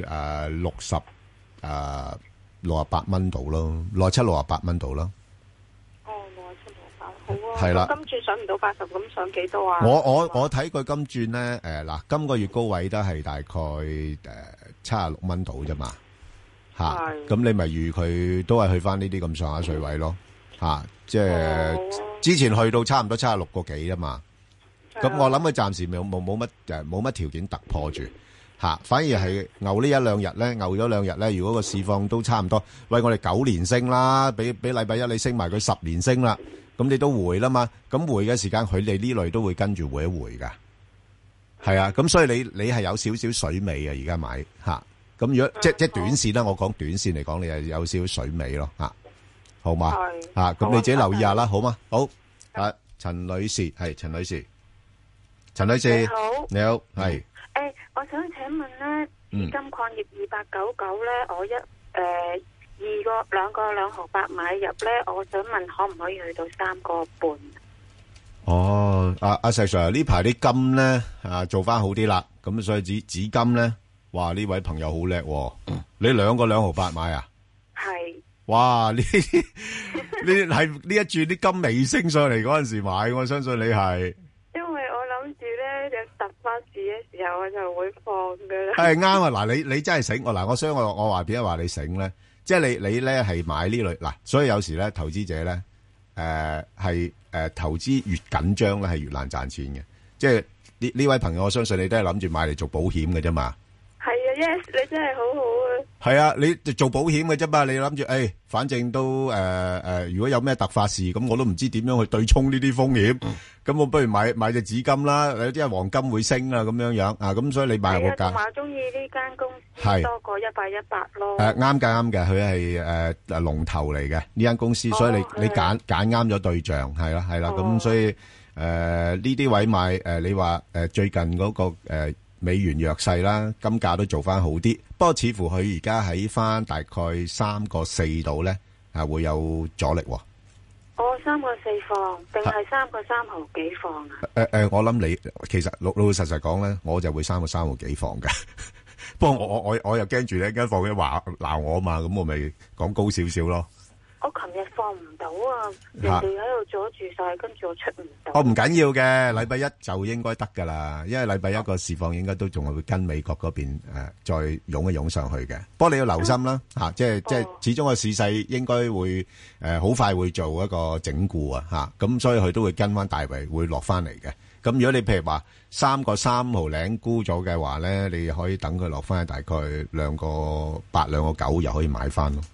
68蚊度咯，67、68蚊度咯。 哦，67、68，好啊。 係啦。 今轉上唔到80，咁上幾多啊？ 我睇佢今轉咧嗱，今個月高位都係大概76蚊度啫嘛。咁你咪預佢都係去翻呢啲咁上下水位咯，即係之前去到差唔多76個幾啊嘛，咁我諗佢暫時冇乜條件突破住，反而係牛呢一兩日咧，牛咗兩日咧，如果個市況都差唔多，喂我哋9年升啦，俾禮拜一你升埋佢10年升啦，咁你都回啦嘛，咁回嘅時間佢哋呢類都會跟住回一回噶，係啊，咁所以你係有少少水尾啊，而家買咁如果即短線啦，我講短線嚟講，你係有少少水尾咯，好嘛？咁你自己留意下啦，好嘛？好，陳女士係陳女士，陳女士你好，係。 我想請問咧，金礦業2899咧，我兩個2毫8買入咧，我想問可唔可以去到3個半？ 哦，阿石 Sir 呢排啲金咧做翻好啲啦，咁所以紙金咧。哇！呢位朋友好叻喎，你2個2毫8買啊？ 係。 哇！呢係呢一轉啲金未升上嚟嗰陣時買，我相信你係。 因為我諗住咧有突發事嘅時候，我就會放噶啦。 係啱啊！嗱，你真係醒所以我話點解話你醒咧？即係你咧係買呢類嗱，所以有時咧投資者咧係投資越緊張咧係越難賺錢嘅。即係呢位朋友，我相信你都係諗住買嚟做保險嘅啫嘛。 係啊 ，yes， 你真係好好啊！ 係啊，你做保險嘅啫嘛，你諗住反正都如果有咩突發事，咁我都唔知點樣去對沖呢啲風險，咁我不如買隻紙金啦，有啲係黃金會升啊，咁樣樣咁所以你買個價。同埋中意呢間公司多過180咯。 啱嘅，佢係龍頭嚟嘅呢間公司，所以你揀啱咗對象，係啦，咁所以呢啲位買你話最近嗰個美元弱勢啦，金價都做翻好啲，不過似乎佢而家喺翻大概3個4度咧，會有阻力。 3個4放定係3個3毫幾放啊？ 我諗你其實老實講咧，我就會3個3毫幾放嘅。不過我又驚住咧，一放佢話鬧我嘛，咁我咪講高少少咯。 我琴日放唔到啊，人哋喺度阻住晒，跟住我出唔到。 唔緊要嘅，禮拜一就應該得噶啦，因為禮拜一個市況應該都仲係會跟美國嗰邊再湧一湧上去嘅。不過你要留心啦，即係始終個市勢應該會好快會做一個整固啊，咁所以佢都會跟翻大圍會落翻嚟嘅。咁如果你譬如話3個3毫零沽咗嘅話咧，你可以等佢落翻去大概2個8、2個9，又可以買翻咯。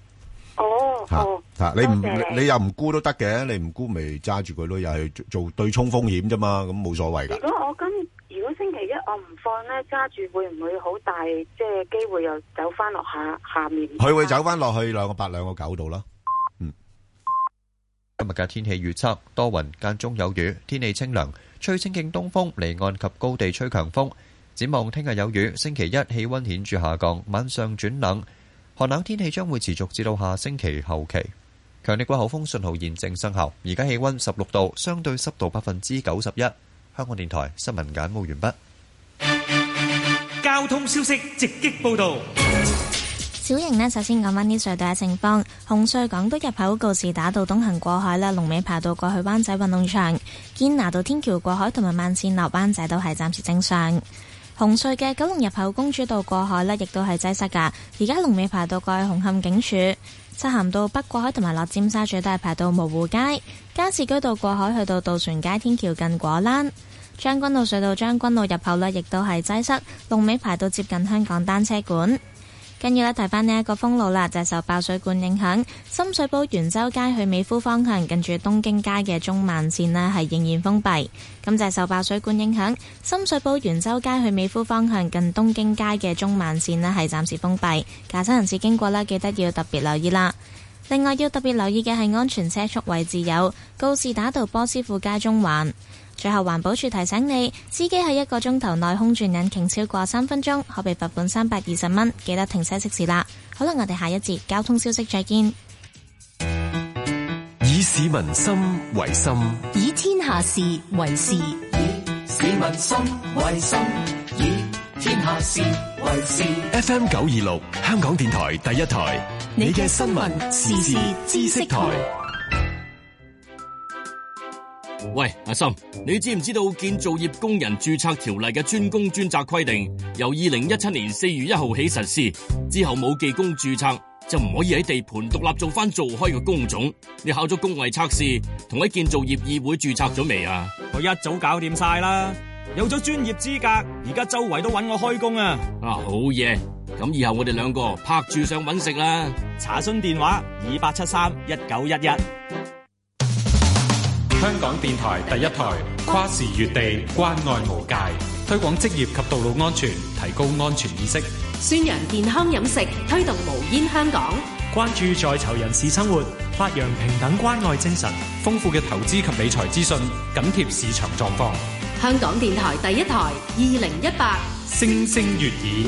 你又唔沽都得嘅，你唔沽咪揸住佢咯，又係做對沖風險啫嘛，咁冇所謂噶。 如果星期一我唔放咧，揸住會唔會好大即係機會又走翻落下面？ 佢會走翻落去2個8、2個9度咯。 今日嘅天氣預測多雲間中有雨，天氣清涼，吹清勁東風，離岸及高地吹強風。展望聽日有雨，星期一氣溫顯著下降，晚上轉冷。寒冷天氣將會持續至到下星期後期。強烈季候風信號現正生效，而家氣溫16度，相對濕度91%。香港電台新聞簡報完畢。交通消息直擊報道。 小瑩呢，首先講返啲隧道嘅情況。紅隧港島入口告士打道東行過海啦，龍尾排到過去灣仔運動場。堅拿道天橋過海同埋慢線落灣仔都係暫時正常。紅隧嘅九龍入口公主道過海呢，亦都係擠塞噶。而家龍尾排到過去紅磡警署。漆咸道北過海同埋落尖沙咀都係排到蕪湖街。加士居道過海去到渡船街天橋近果欄。將軍澳隧道將軍澳入口呢，亦都係擠塞，龍尾排到接近香港單車館。跟住呢，提翻呢一個封路啦，就係受爆水管影響，深水埗元州街去美孚方向近住東京街嘅中慢線呢係仍然封閉。咁就係受爆水管影響，深水埗元州街去美孚方向近東京街嘅中慢線呢係暫時封閉。駕駛人士經過啦，記得要特別留意啦。另外要特別留意嘅係安全車速位置有告士打道波斯富街中環。最後環保署提醒你，司機喺1個鐘頭內空轉引擎超過3分鐘，可被罰款320蚊。記得停車熄匙啦。好啦，我哋下一節交通消息再見。 以市民心為心， 以天下事為事， 以市民心為心，以天下事為事。FM 926香港電台第一台，你嘅新聞時事知識台。 喂，阿森，你知唔知道建造業工人註冊條例嘅專工專責規定由2017年4月1號起實施，之後冇技工註冊就唔可以喺地盤獨立做翻做開嘅工種。你考咗工藝測試同喺建造業議會註冊咗未啊？ 我一早搞掂晒啦，有咗專業資格，而家周圍都揾我開工啊！ 好嘢，咁以後我哋兩個拍住上揾食啦。 查詢電話28731911。 香港電台第一台，跨時越地，關愛無界，推廣職業及道路安全，提高安全意識， 宣揚健康飲食，推動無煙香港， 關注在囚人士生活，發揚平等關愛精神， 豐富嘅投資及理財資訊，緊貼市場狀況。 香港電台第一台2018， 聲聲悅耳。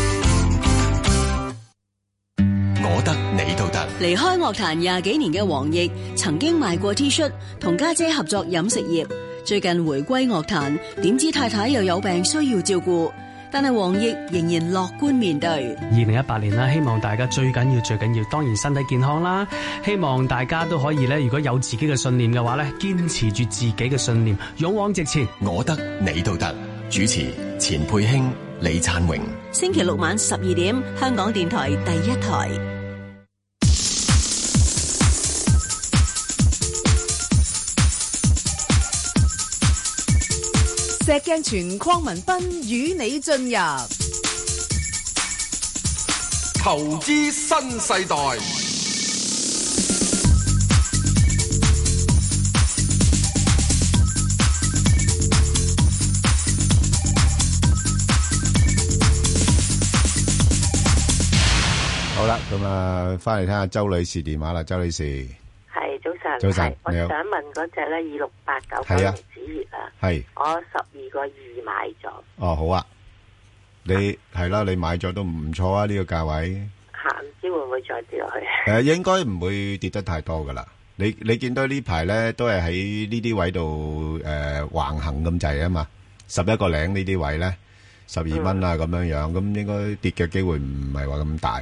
我得你都得。 離開樂壇20幾年嘅黃奕，曾經賣過 T 恤，同家姐合作飲食業。最近回歸樂壇，點知太太又有病需要照顧，但係黃奕仍然樂觀面對。 2018年啦，希望大家最緊要，當然身體健康啦。希望大家都可以咧，如果有自己嘅信念嘅話咧，堅持住自己嘅信念，勇往直前。 我得你都得。主持錢佩卿、李燦榮。 星期六晚12點，香港電台第一台。 石鏡泉鄺民彬與你進入投資新世代。 好啦，咁啊，翻嚟聽下周女士電話啦。周女士， 係早晨， 早晨， 我想問嗰隻咧2689九龍紙業啊， 係我12個2買咗。 哦，好啊，你係啦，你買咗都唔錯啊，呢個價位。 唔知會唔會再跌落去？ 應該唔會跌得太多噶啦。你見到呢排咧都係喺呢啲位度橫行咁滯啊嘛，11個零呢啲位咧，12蚊啊咁樣樣，咁應該跌嘅機會唔係話咁大。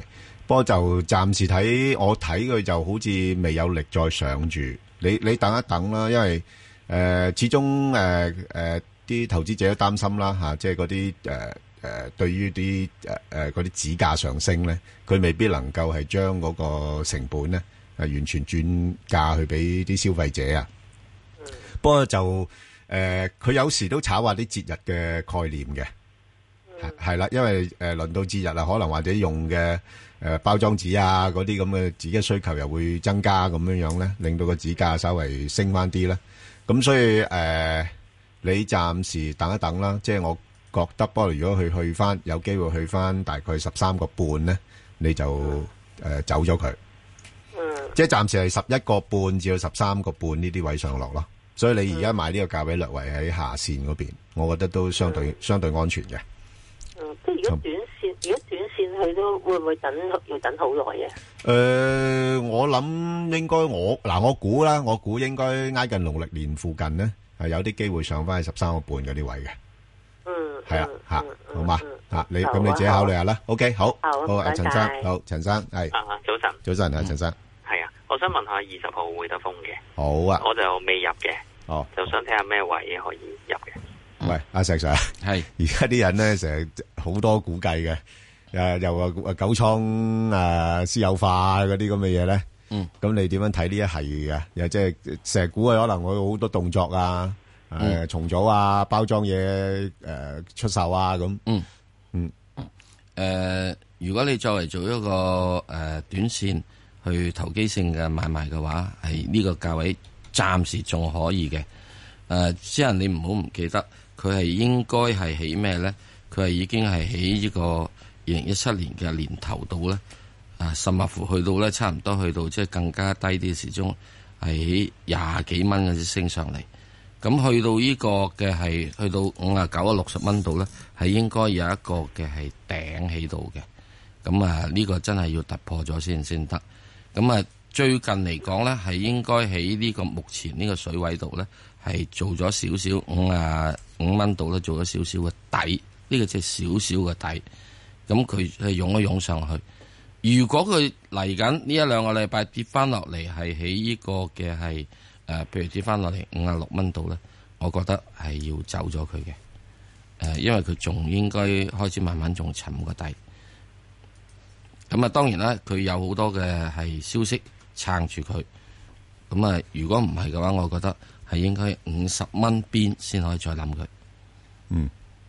不過就暫時睇，我睇佢就好似未有力再上住。你等一等啦，因為始終啲投資者都擔心啦嚇，即係嗰啲對於啲嗰啲指價上升咧，佢未必能夠係將嗰個成本咧完全轉嫁去俾啲消費者啊。不過就佢有時都炒下啲節日嘅概念嘅，係啦，因為輪到節日啊，可能或者用嘅包裝紙啊嗰啲咁嘅紙嘅需求又會增加咁樣咧，令到個紙價稍微升翻啲啦。咁所以你暫時等一等啦，即係我覺得，不過如果佢去翻有機會去翻大概13.5咧，你就走咗佢。即係暫時係11.5至到13.5呢啲位上落咯。所以你而家買呢個價位略為喺下線嗰邊，我覺得都相對安全嘅。 即係如果短線去都會唔會要等好耐嘅？ 我諗應該我估啦，我估應該挨近農曆年附近咧，係有啲機會上翻去13.5嗰啲位嘅。係啊，好嘛你咁你自己考慮下啦。OK， 好，陳生，好，陳生係。早晨啊，陳生。 係啊，我想問下20號會德豐嘅。 好啊。 我就未入嘅。就想睇下咩位可以入嘅。 喂，阿石 Sir，係而家啲人咧成日好多估計嘅，又話九倉私有化嗰啲咁嘅嘢咧。咁你點樣睇呢一係嘅？又即係成日估可能會好多動作啊，重組啊，包裝嘢出售啊咁。 如果你作為做一個短線去投機性嘅買賣嘅話，係呢個價位暫時仲可以嘅。只係你唔好唔記得，佢係應該係起咩咧？佢係已經係起呢個2017年嘅年頭度咧，甚至乎去到咧差唔多去到即係更加低啲時鐘，係起20幾蚊嗰啲升上嚟。咁去到呢個嘅係去到59啊60蚊度咧，係應該有一個嘅係頂喺度嘅。咁呢個真係要突破咗先得。咁最近嚟講咧，係應該喺呢個目前呢個水位度咧，係做咗少少55蚊度咧，做咗少少嘅底。呢個即係少少嘅底。咁佢係湧一湧上去。如果佢嚟緊呢1-2個禮拜跌翻落嚟，係喺呢個嘅係譬如跌翻落嚟56蚊度咧，我覺得係要走咗佢嘅。因為佢仲應該開始慢慢仲沉個底。咁當然啦，佢有好多嘅係消息撐住佢。咁如果唔係嘅話，我覺得係應該50蚊邊先可以再諗佢。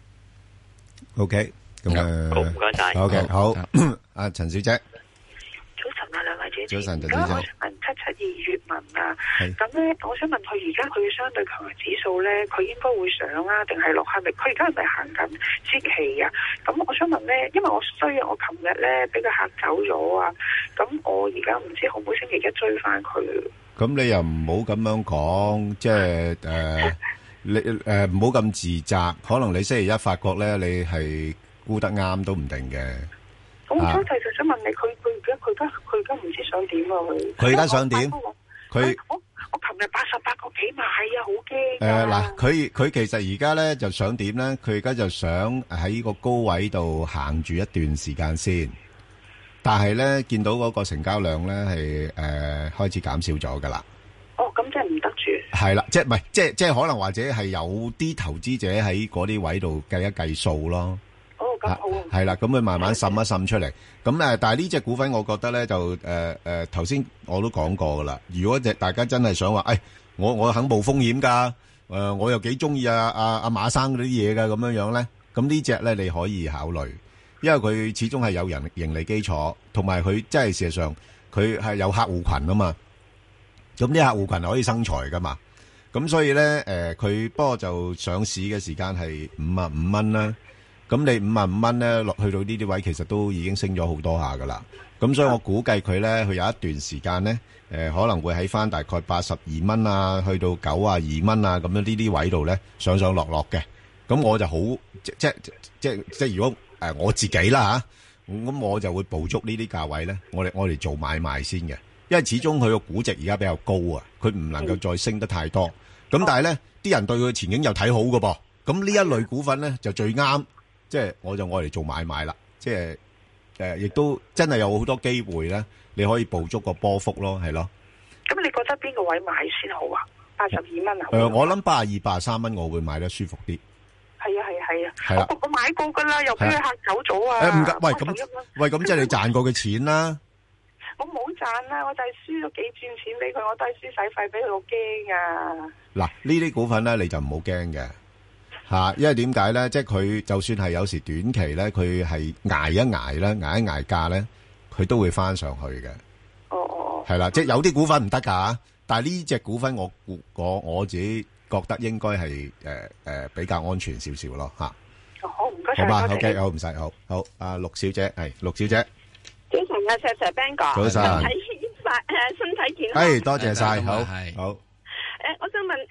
OK， 咁好，唔該晒。 OK， 好，阿陳小姐。 早晨啊，兩位主持。 早晨，陳小姐。 小姐。 我想問772粵文啊，咁咧，我想問佢而家佢相對強弱指數咧，佢應該會上啊，定係落？係咪佢而家係咪行緊節期啊？咁我想問咧，因為我琴日咧俾佢嚇走咗啊，咁我而家唔知可唔可以星期一追翻佢？ 咁你又唔好咁樣講，即係你唔好咁自責。可能你星期一發覺咧，你係估得啱都唔定嘅。 咁我就想問你，佢而家唔知想點啊？ 佢而家想點？佢我琴日88個幾買啊，好驚。 佢其實而家咧就想點咧？佢而家就想喺個高位度行住一段時間先。但係咧見到嗰個成交量咧係開始減少咗噶啦。 哦，咁即係唔得住。係啦，即係唔係即係可能或者係有啲投資者喺嗰啲位度計一計數咯。 哦，咁好。 係啦，咁佢慢慢滲一滲出嚟。咁但係呢隻股份我覺得咧就頭先我都講過噶啦。如果大家真係想話，我肯冒風險噶，我又幾中意阿馬生嗰啲嘢噶咁樣咧，咁呢隻咧你可以考慮。因為佢始終係有盈利基礎，同埋佢真係事實上佢係有客戶群啊嘛。咁啲客戶群係可以生財噶嘛。咁所以咧佢不過就上市嘅時間係55蚊啦。咁你55蚊咧落去到呢啲位，其實都已經升咗好多下噶啦。咁所以我估計佢咧，佢有一段時間咧可能會喺翻大概82蚊啊，去到92蚊啊咁樣呢啲位度咧上上落落嘅。咁我就好即如果我自己啦嚇，咁我就會捕捉呢啲價位咧，我哋做買賣先嘅，因為始終佢個估值而家比較高啊，佢唔能夠再升得太多。咁但係咧，啲人對佢前景又睇好㗎噃，咁呢一類股份咧就最啱，即係我就愛嚟做買賣啦，即係亦都真係有好多機會咧，你可以捕捉個波幅咯，係咯。 咁你覺得邊個位買先好啊？82蚊啊？ 我諗82、83蚊，我會買得舒服啲。 係啊，我買過噶啦，又俾佢嚇走咗啊！ 唔該，喂咁即係你賺過嘅錢啦。 我冇賺啦，我就係輸咗幾轉錢俾佢，我都係輸使費俾佢，好驚啊！ 嗱，呢啲股份咧你就唔好驚嘅嚇，因為點解咧？即係佢就算係有時短期咧，佢係捱一捱咧，捱一捱價咧，佢都會翻上去嘅。哦，係啦，即係有啲股份唔得㗎，但係呢隻股份我自己覺得應該係比較安全少少咯嚇。 好，唔該曬。 好嘛，OK，好唔使，好，阿陸小姐係陸小姐。 早晨啊，石 Sir Ben 哥， 早晨， 身體健康。 多謝晒，好。 我想問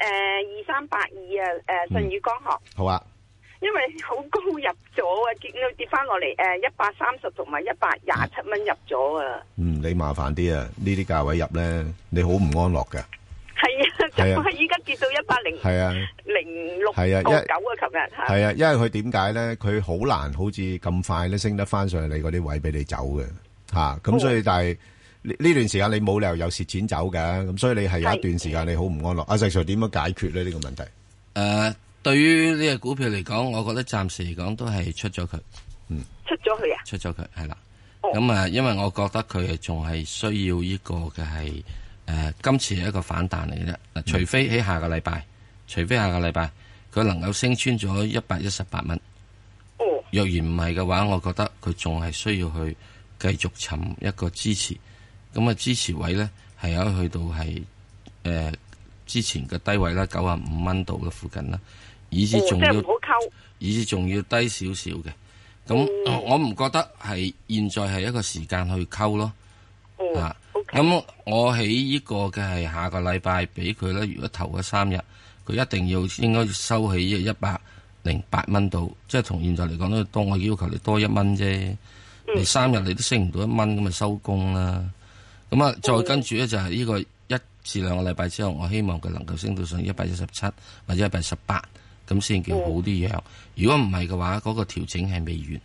2382啊，舜宇光學。 好啊。 因為好高入咗啊，跌翻落嚟130同埋127蚊入咗啊。 你麻煩啲啊，呢啲價位入咧，你好唔安樂嘅。 係啊，就係依家跌到106.9啊，琴日係啊，因為佢點解咧？佢好難好似咁快咧升得翻上嚟嗰啲位俾你走嘅嚇，咁所以但係呢段時間你冇理由有蝕錢走嘅，咁所以你係有一段時間你好唔安樂。阿石 Sir 點樣解決咧呢個問題？ 對於呢個股票嚟講，我覺得暫時嚟講都係出咗佢。 出咗佢啊？ 出咗佢係啦。咁因為我覺得佢仲係需要呢個嘅係。今次係一個反彈嚟嘅啫，除非喺下個禮拜，佢能夠升穿咗118蚊。若然唔係嘅話，我覺得佢仲係需要去繼續尋一個支持。咁啊，支持位咧係有去到係之前嘅低位啦，95蚊度嘅附近啦，以至仲要低少少嘅。咁我唔覺得係現在係一個時間去溝咯。咁我喺呢個嘅係下個禮拜俾佢咧，如果頭嗰3日，佢一定應該收起108蚊度，即係同現在嚟講都多，我要求你多1蚊啫。你3日你都升唔到1蚊，咁咪收工啦。咁啊，再跟住咧就係呢個1至2個禮拜之後，我希望佢能夠升到上117或者118，咁先叫好啲樣。如果唔係嘅話，嗰個調整係未完。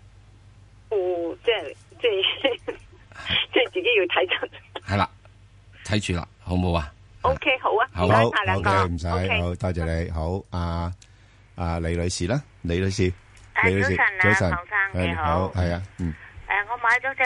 即係自己要睇緊。 係啦，睇住啦，好唔好啊 ？OK， 好啊， 好， 唔該晒兩個， 唔使，好多謝你。好，阿李女士啦，李女士， 早晨啊，唐生你好， 係啊， 我買咗隻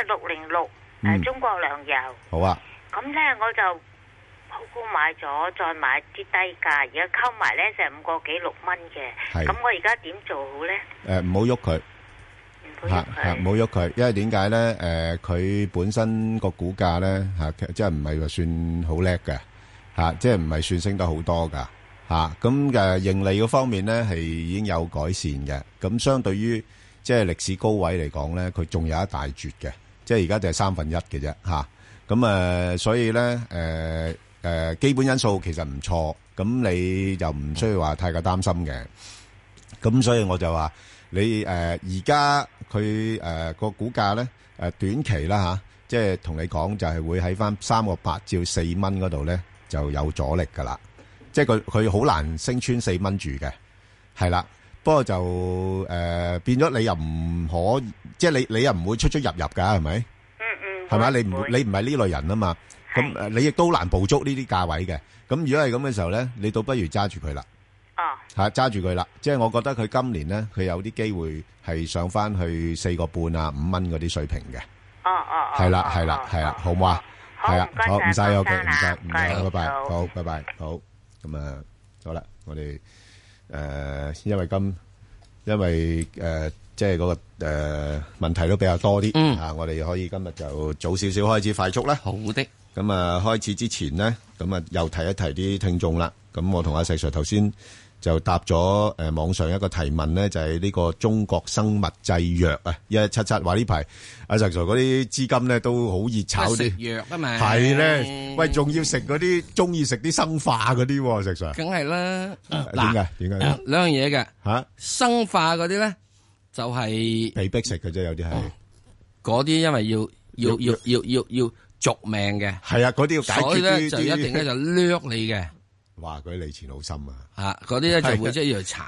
606，中國糧油。 好啊。 咁咧我就好高買咗，再買啲低價，而家溝埋咧就5個幾6蚊嘅。咁我而家點做好咧？ 唔好喐佢。唔好喐佢，因為點解咧？佢本身個股價咧即係唔係話算好叻嘅即係唔係算升得好多噶咁盈利嗰方面咧係已經有改善嘅。咁相對於即係歷史高位嚟講咧，佢仲有一大絕嘅，即係而家就係1/3嘅啫咁所以咧基本因素其實唔錯，咁你就唔需要話太過擔心嘅。咁所以我就話。你而家佢個股價咧短期啦即係同你講就係會喺翻3個8至4蚊嗰度咧就有阻力噶啦，即係佢好難升穿4蚊住嘅，係啦。不過就變咗你又唔可，即係你又唔會出入㗎，係咪？係咪？你唔係呢類人啊嘛，咁你亦都難捕捉呢啲價位嘅。咁如果係咁嘅時候咧，你倒不如揸住佢啦。揸住佢啦，即係我覺得佢今年咧，佢有啲機會係上翻去4個半啊5蚊嗰啲水平嘅。係啦，好唔好啊？係啊，好唔使 OK，唔使，拜拜，好，拜拜，好。咁好啦，我哋因為即係嗰個問題都比較多啲我哋可以今日就早少少開始快速啦。 好的。 咁開始之前呢，咁又提一提啲聽眾啦。咁我同阿細 Sir 頭先就答咗網上一個提問咧，就係呢個中國生物製藥1177話呢排阿石 Sir 嗰啲資金咧都好熱炒啲食藥啊嘛， 係咧，喂，仲要食嗰啲中意食啲生化嗰啲石 Sir， 梗係啦。 點解兩樣嘢嘅吓，生化嗰啲咧就係被逼食嘅啫，有啲係嗰啲，因為要續命嘅， 係啊，嗰啲要解決， 所以咧就一定咧就掠你嘅。 哇！嗰啲利錢好深啊！ 嗰啲咧就會即係要炒嘅。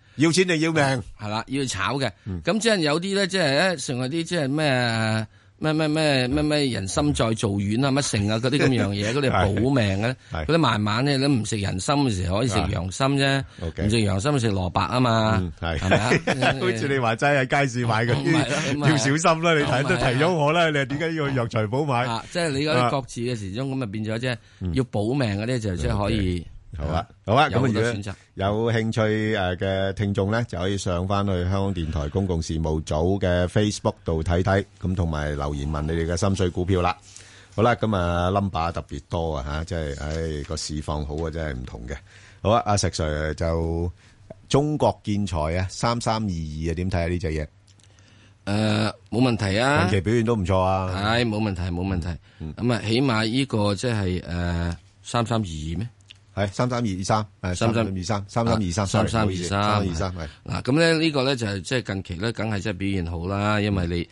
要錢定要命， 係啦，要炒嘅。咁即係有啲咧，即係咧，成為啲即係咩人參再造丸啊，乜成啊嗰啲咁樣嘢，嗰啲保命嘅，嗰啲慢慢咧，你唔食人參嘅時候可以食洋參啫，唔食洋參食蘿蔔啊嘛，係咪啊？ 好似你話齋喺街市買嗰啲，要小心啦！你睇都提咗我啦，你點解要去藥材鋪買？ 即係你嗰啲各自嘅時鐘咁啊，變咗即係要保命嗰啲就即係可以。 好啊，咁如果有興趣嘅聽眾咧，就可以上翻去香港電台公共事務組嘅 Facebook 度睇睇，咁同埋留言問你哋嘅心水股票啦。好啦，咁啊 number 特別多啊吓，即係個市況好啊，真係唔同嘅。好啊，阿石 Sir 就中國建材啊，3322啊，點睇下呢隻嘢？ 冇問題啊， 近期表現都唔錯啊， 係冇問題冇問題。咁啊，起碼呢個即係3322咩？ 係3323，係3323，係嗱，咁咧呢個咧就係即係近期咧，梗係即係表現好啦，因為你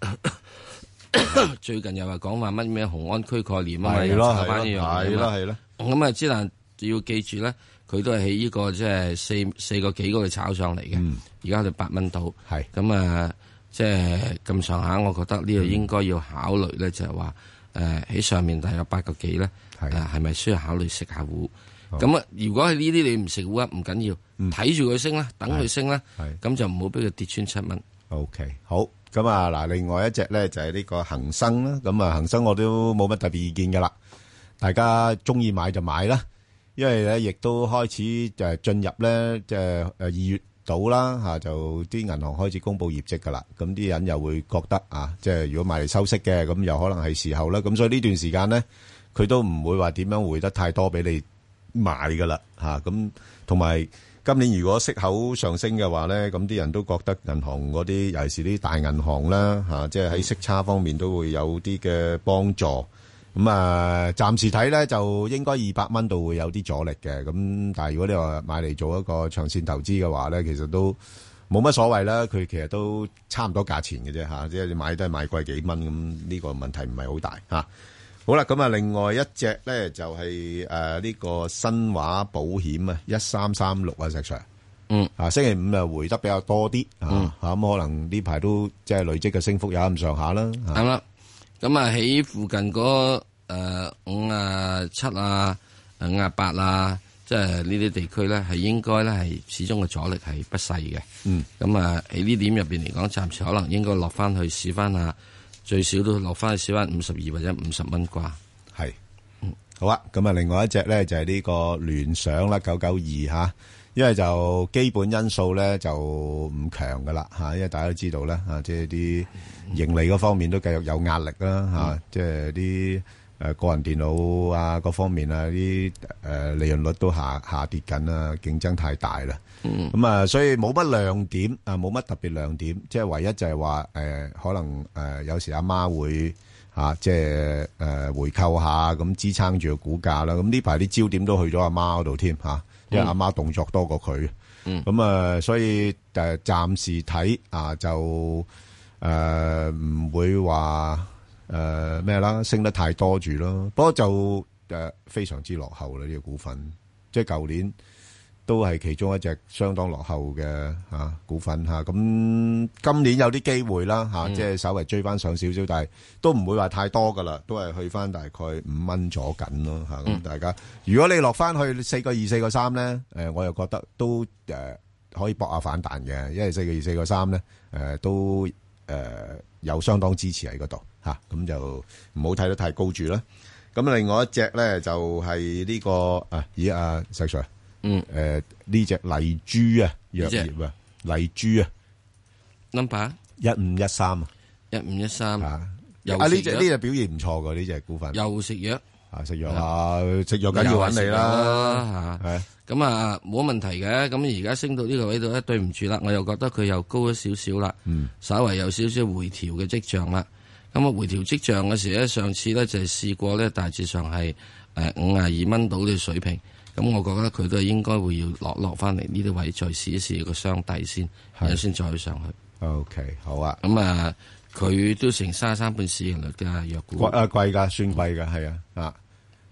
最近又話講話乜咩雄安區概念啊嘛，又炒翻呢樣嘢嘛，係咯。咁啊，之但要記住咧，佢都係喺呢個即係四個幾嗰度炒上嚟嘅，而家就8蚊到，係咁啊，即係咁上下，我覺得呢度應該要考慮咧，就係話喺上面大約8個幾咧，係咪需要考慮食下糊？咁啊，如果係呢啲你唔食糊啊，唔緊要，睇住佢升啦，等佢升啦，咁就唔好俾佢跌穿7蚊。 OK， 好，咁啊嗱，另外一隻咧就係呢個恒生啦，咁啊恒生我都冇乜特別意見噶啦，大家中意買就買啦，因為咧亦都開始就進入咧即係2月度啦吓，就啲銀行開始公布業績噶啦，咁啲人又會覺得啊，即係如果買嚟收息嘅，咁又可能係時候啦，咁所以呢段時間咧，佢都唔會話點樣回得太多俾你買噶啦吓，咁同埋今年如果息口上升嘅話咧，咁啲人都覺得銀行嗰啲，尤其是啲大銀行啦吓，即係喺息差方面都會有啲嘅幫助。咁啊，暫時睇咧就應該200蚊度會有啲阻力嘅。咁但係如果你話買嚟做一個長線投資嘅話咧，其實都冇乜所謂啦。佢其實都差唔多價錢嘅啫吓，即係你買都係買貴幾蚊咁，呢個問題唔係好大吓。好啦，咁啊，另外一隻咧就係呢個新華保險啊，1336啊，石 Sir，星期5啊回得比較多啲咁可能呢排都即係累積嘅升幅有咁上下啦。 係啦，咁啊喺附近嗰57啊、58啊，即係呢啲地區咧，係應該咧係始終嘅阻力係不細嘅。咁啊喺呢點入邊嚟講，暫時可能應該落翻去試翻下。最少都落翻去少翻52或者50蚊啩。 係，好啊。咁啊，另外一隻咧就係呢個聯想啦，992吓，因為就基本因素咧就唔強噶啦吓，因為大家都知道咧吓，即係啲盈利嗰方面都繼續有壓力啦吓，即係啲個人電腦啊各方面啊啲利潤率都下跌緊啦，競爭太大啦。咁啊，所以冇乜亮點啊，冇乜特別亮點，即係唯一就係話可能有時阿媽會即係回購下咁支撐住個股價啦。咁呢排啲焦點都去咗阿媽嗰度添吓，因為阿媽動作多過佢。咁啊，所以暫時睇就唔會話咩啦，升得太多住咯。不過就非常之落後啦呢個股份，即係舊年。都係其中一隻相當落後嘅股份嚇，咁今年有啲機會啦嚇，即係稍微追翻上少少，但係都唔會話太多噶啦，都係去翻大概5蚊左緊咯嚇。咁大家如果你落翻去4個2、4個3咧，我又覺得都可以搏下反彈嘅，因為4個2、4個3咧都有相當支持喺嗰度嚇，咁就唔好睇得太高住啦。咁另外一隻咧就係呢個石 Sir。呢隻麗珠啊，藥業啊，麗珠啊 ，number 1513啊 ，1513 啊，呢隻表現唔錯噶呢隻股份， 又食藥食藥食藥緊要揾你啦，係咁啊冇問題嘅，咁而家升到呢個位度咧，對唔住啦，我又覺得佢又高咗少少啦，稍微有少少回調嘅跡象啦，咁啊回調跡象嘅時咧，上次咧就係試過咧，大致上係52蚊到嘅水平。咁我覺得佢都係應該會要落翻嚟呢啲位，再試一試個雙底先，然後先再去上去。 OK， 好啊。 咁啊，佢都成33倍市盈率嘅藥股。 貴㗎，算貴㗎，係啊。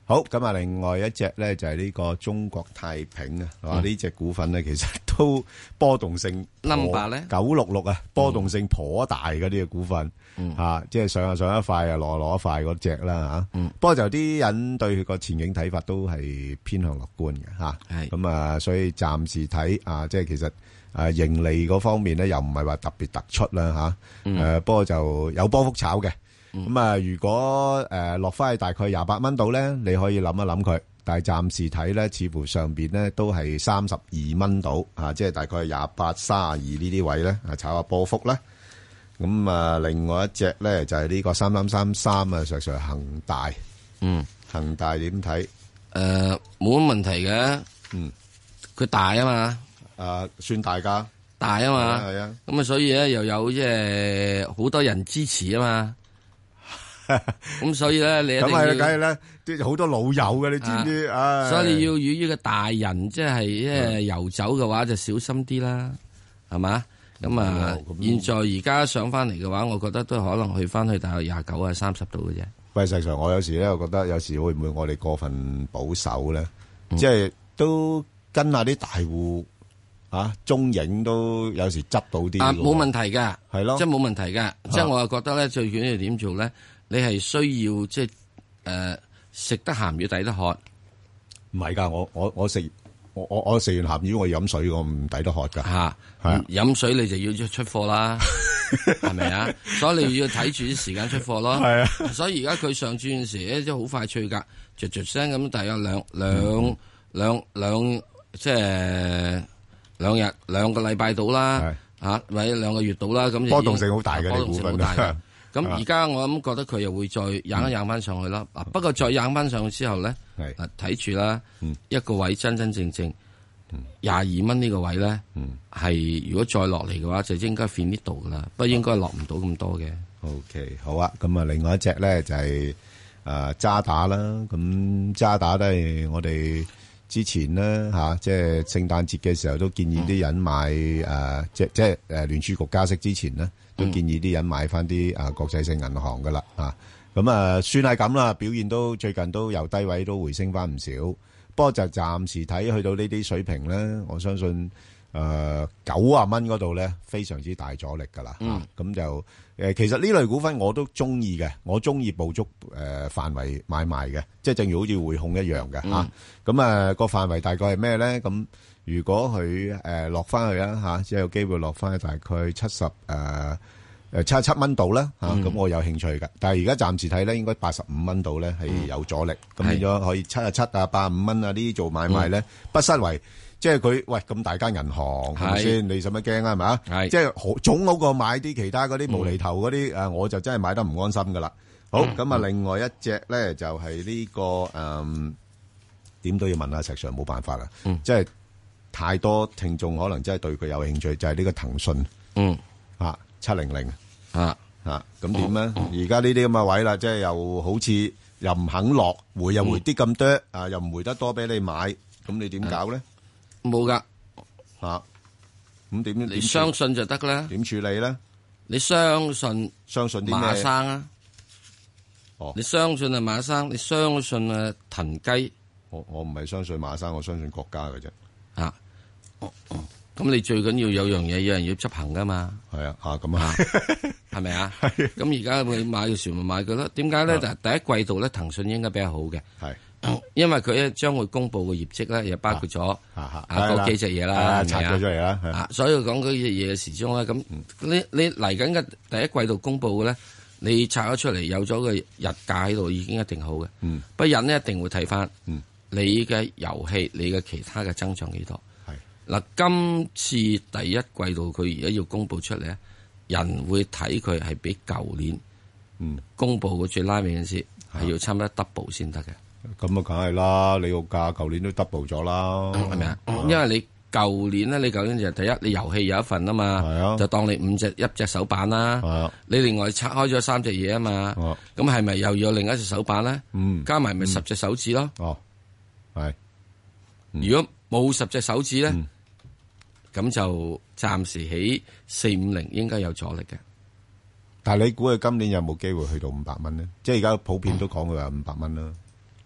好，咁啊，另外一隻咧就係呢個中國太平啊，呢隻股份咧其實都波動性 number 咧 966啊，波動性頗大嗰啲嘅股份，即係上一塊啊，落一塊嗰隻啦吓。不過就啲人對佢個前景睇法都係偏向樂觀嘅吓。咁啊，所以暫時睇啊，即係其實盈利嗰方面咧又唔係話特別突出啦吓。不過就有波幅炒嘅。咁啊，如果落翻去大概28蚊度咧，你可以諗一諗佢。但係暫時睇咧，似乎上邊咧都係32蚊度啊，即係大概28、32呢啲位咧啊，炒下波幅啦。咁啊，另外一隻咧就係呢個3333啊，實恒大。恒大點睇？ 冇乜問題嘅。佢大啊嘛。 算大㗎。 大啊嘛。 係啊。 咁啊，所以咧又有即係好多人支持啊嘛。咁所以咧，你一定要咁係梗係咧，啲好多老友嘅，你知唔知？ 所以你要與呢個大人即係遊走嘅話，就小心啲啦，係嘛？咁啊，現在而家上翻嚟嘅話，我覺得都可能去翻去大約29啊30度嘅啫。 喂，實際上我有時咧，我覺得有時會唔會我哋過分保守咧？即係都跟下啲大戶中影都有時執到啲。 冇問題㗎， 係咯， 即係冇問題㗎。即係我又覺得咧，最緊要點做咧？你係需要即係食得鹹魚抵得渴， 唔係㗎，我食完鹹魚我飲水我唔抵得渴㗎嚇，飲水你就要出貨啦，係咪啊？所以你要睇住啲時間出貨咯。係啊，所以而家佢上轉嗰時咧，即係好快脆㗎，啜聲咁，大約兩即係兩個禮拜到啦，或者2個月到啦，咁波動性好大嘅啲股份。 咁而家我諗覺得佢又會再硬翻上去啦。不過再硬翻上去之後咧，睇住啦，一個位真正22蚊呢個位咧，係如果再落嚟嘅話，就應該 fin 呢度噶啦，不過應該落唔到咁多嘅。 OK， 好啊。咁啊，另外一隻咧就係渣打啦。咁渣打都係我哋之前咧即係聖誕節嘅時候都建議啲人買即係聯儲局加息之前咧。都建議啲人買翻啲國際性銀行噶啦咁算係咁啦，表現都最近都由低位都回升翻唔少，不過就暫時睇去到呢啲水平咧，我相信90蚊嗰度咧非常之大阻力噶啦咁就其實呢類股份我都中意嘅，我中意捕捉範圍買賣嘅，即係正如好似匯控一樣嘅咁個範圍大概係咩咧？咁如果佢落翻去即係有機會落翻去大概77蚊度啦咁我有興趣嘅。但係而家暫時睇咧，應該85蚊度咧係有阻力，咁變咗可以77啊、85蚊啊呢啲做買賣咧，不失為即係佢喂咁大間銀行係咪先？你使乜驚啊？係咪啊？即係總好過買啲其他嗰啲無厘頭嗰啲我就真係買得唔安心噶啦。好咁啊，另外一隻咧就係呢個點都要問下石 Sir， 冇辦法啦，即係。太多聽眾可能真係對佢有興趣，就係呢個騰訊，700咁點咧？而家呢啲咁嘅位啦，即係又好似又唔肯落，回又回啲咁多，又唔回得多俾你買，咁你點搞咧？ 冇噶咁點？ 你相信就得啦。 點處理咧？ 你相信啲咩？ 馬生啊？你相信啊馬生？你相信啊騰雞？ 我唔係相信馬生，我相信國家嘅啫。 咁你最緊要有樣嘢，有人要執行噶嘛？ 係咁啊， 係咪啊？咁而家佢買嘅時咪買佢咯？點解咧？第一季度咧，騰訊應該比較好嘅，因為佢咧將會公布嘅業績咧，又包括咗嗰幾隻嘢啦， 拆咗出嚟啦。 所以講嗰隻嘢嘅時鐘咧，咁你嚟緊嘅第一季度公布嘅咧，你拆咗出嚟有咗個日價喺度，已經一定好嘅。不過人咧一定會睇翻你嘅遊戲，你嘅其他嘅增長幾多。嗱，今次第一季度佢而家要公布出嚟咧，人會睇佢係比舊年公布嘅最拉尾嗰陣時係要差唔多 double 先得嘅。咁啊，梗係啦，你個價舊年都 double 咗啦， 係咪啊？因為你舊年咧，你舊年就第一，你遊戲有一份啊嘛，就當你一隻手板啦。你另外拆開咗3隻嘢啊嘛，咁係咪又要有另一隻手板咧？加埋咪10隻手指咯。如果冇10隻手指咧？咁就暫時喺450應該有阻力嘅。 但係你估佢今年有冇機會去到500蚊咧？即係而家普遍都講佢話500蚊啦。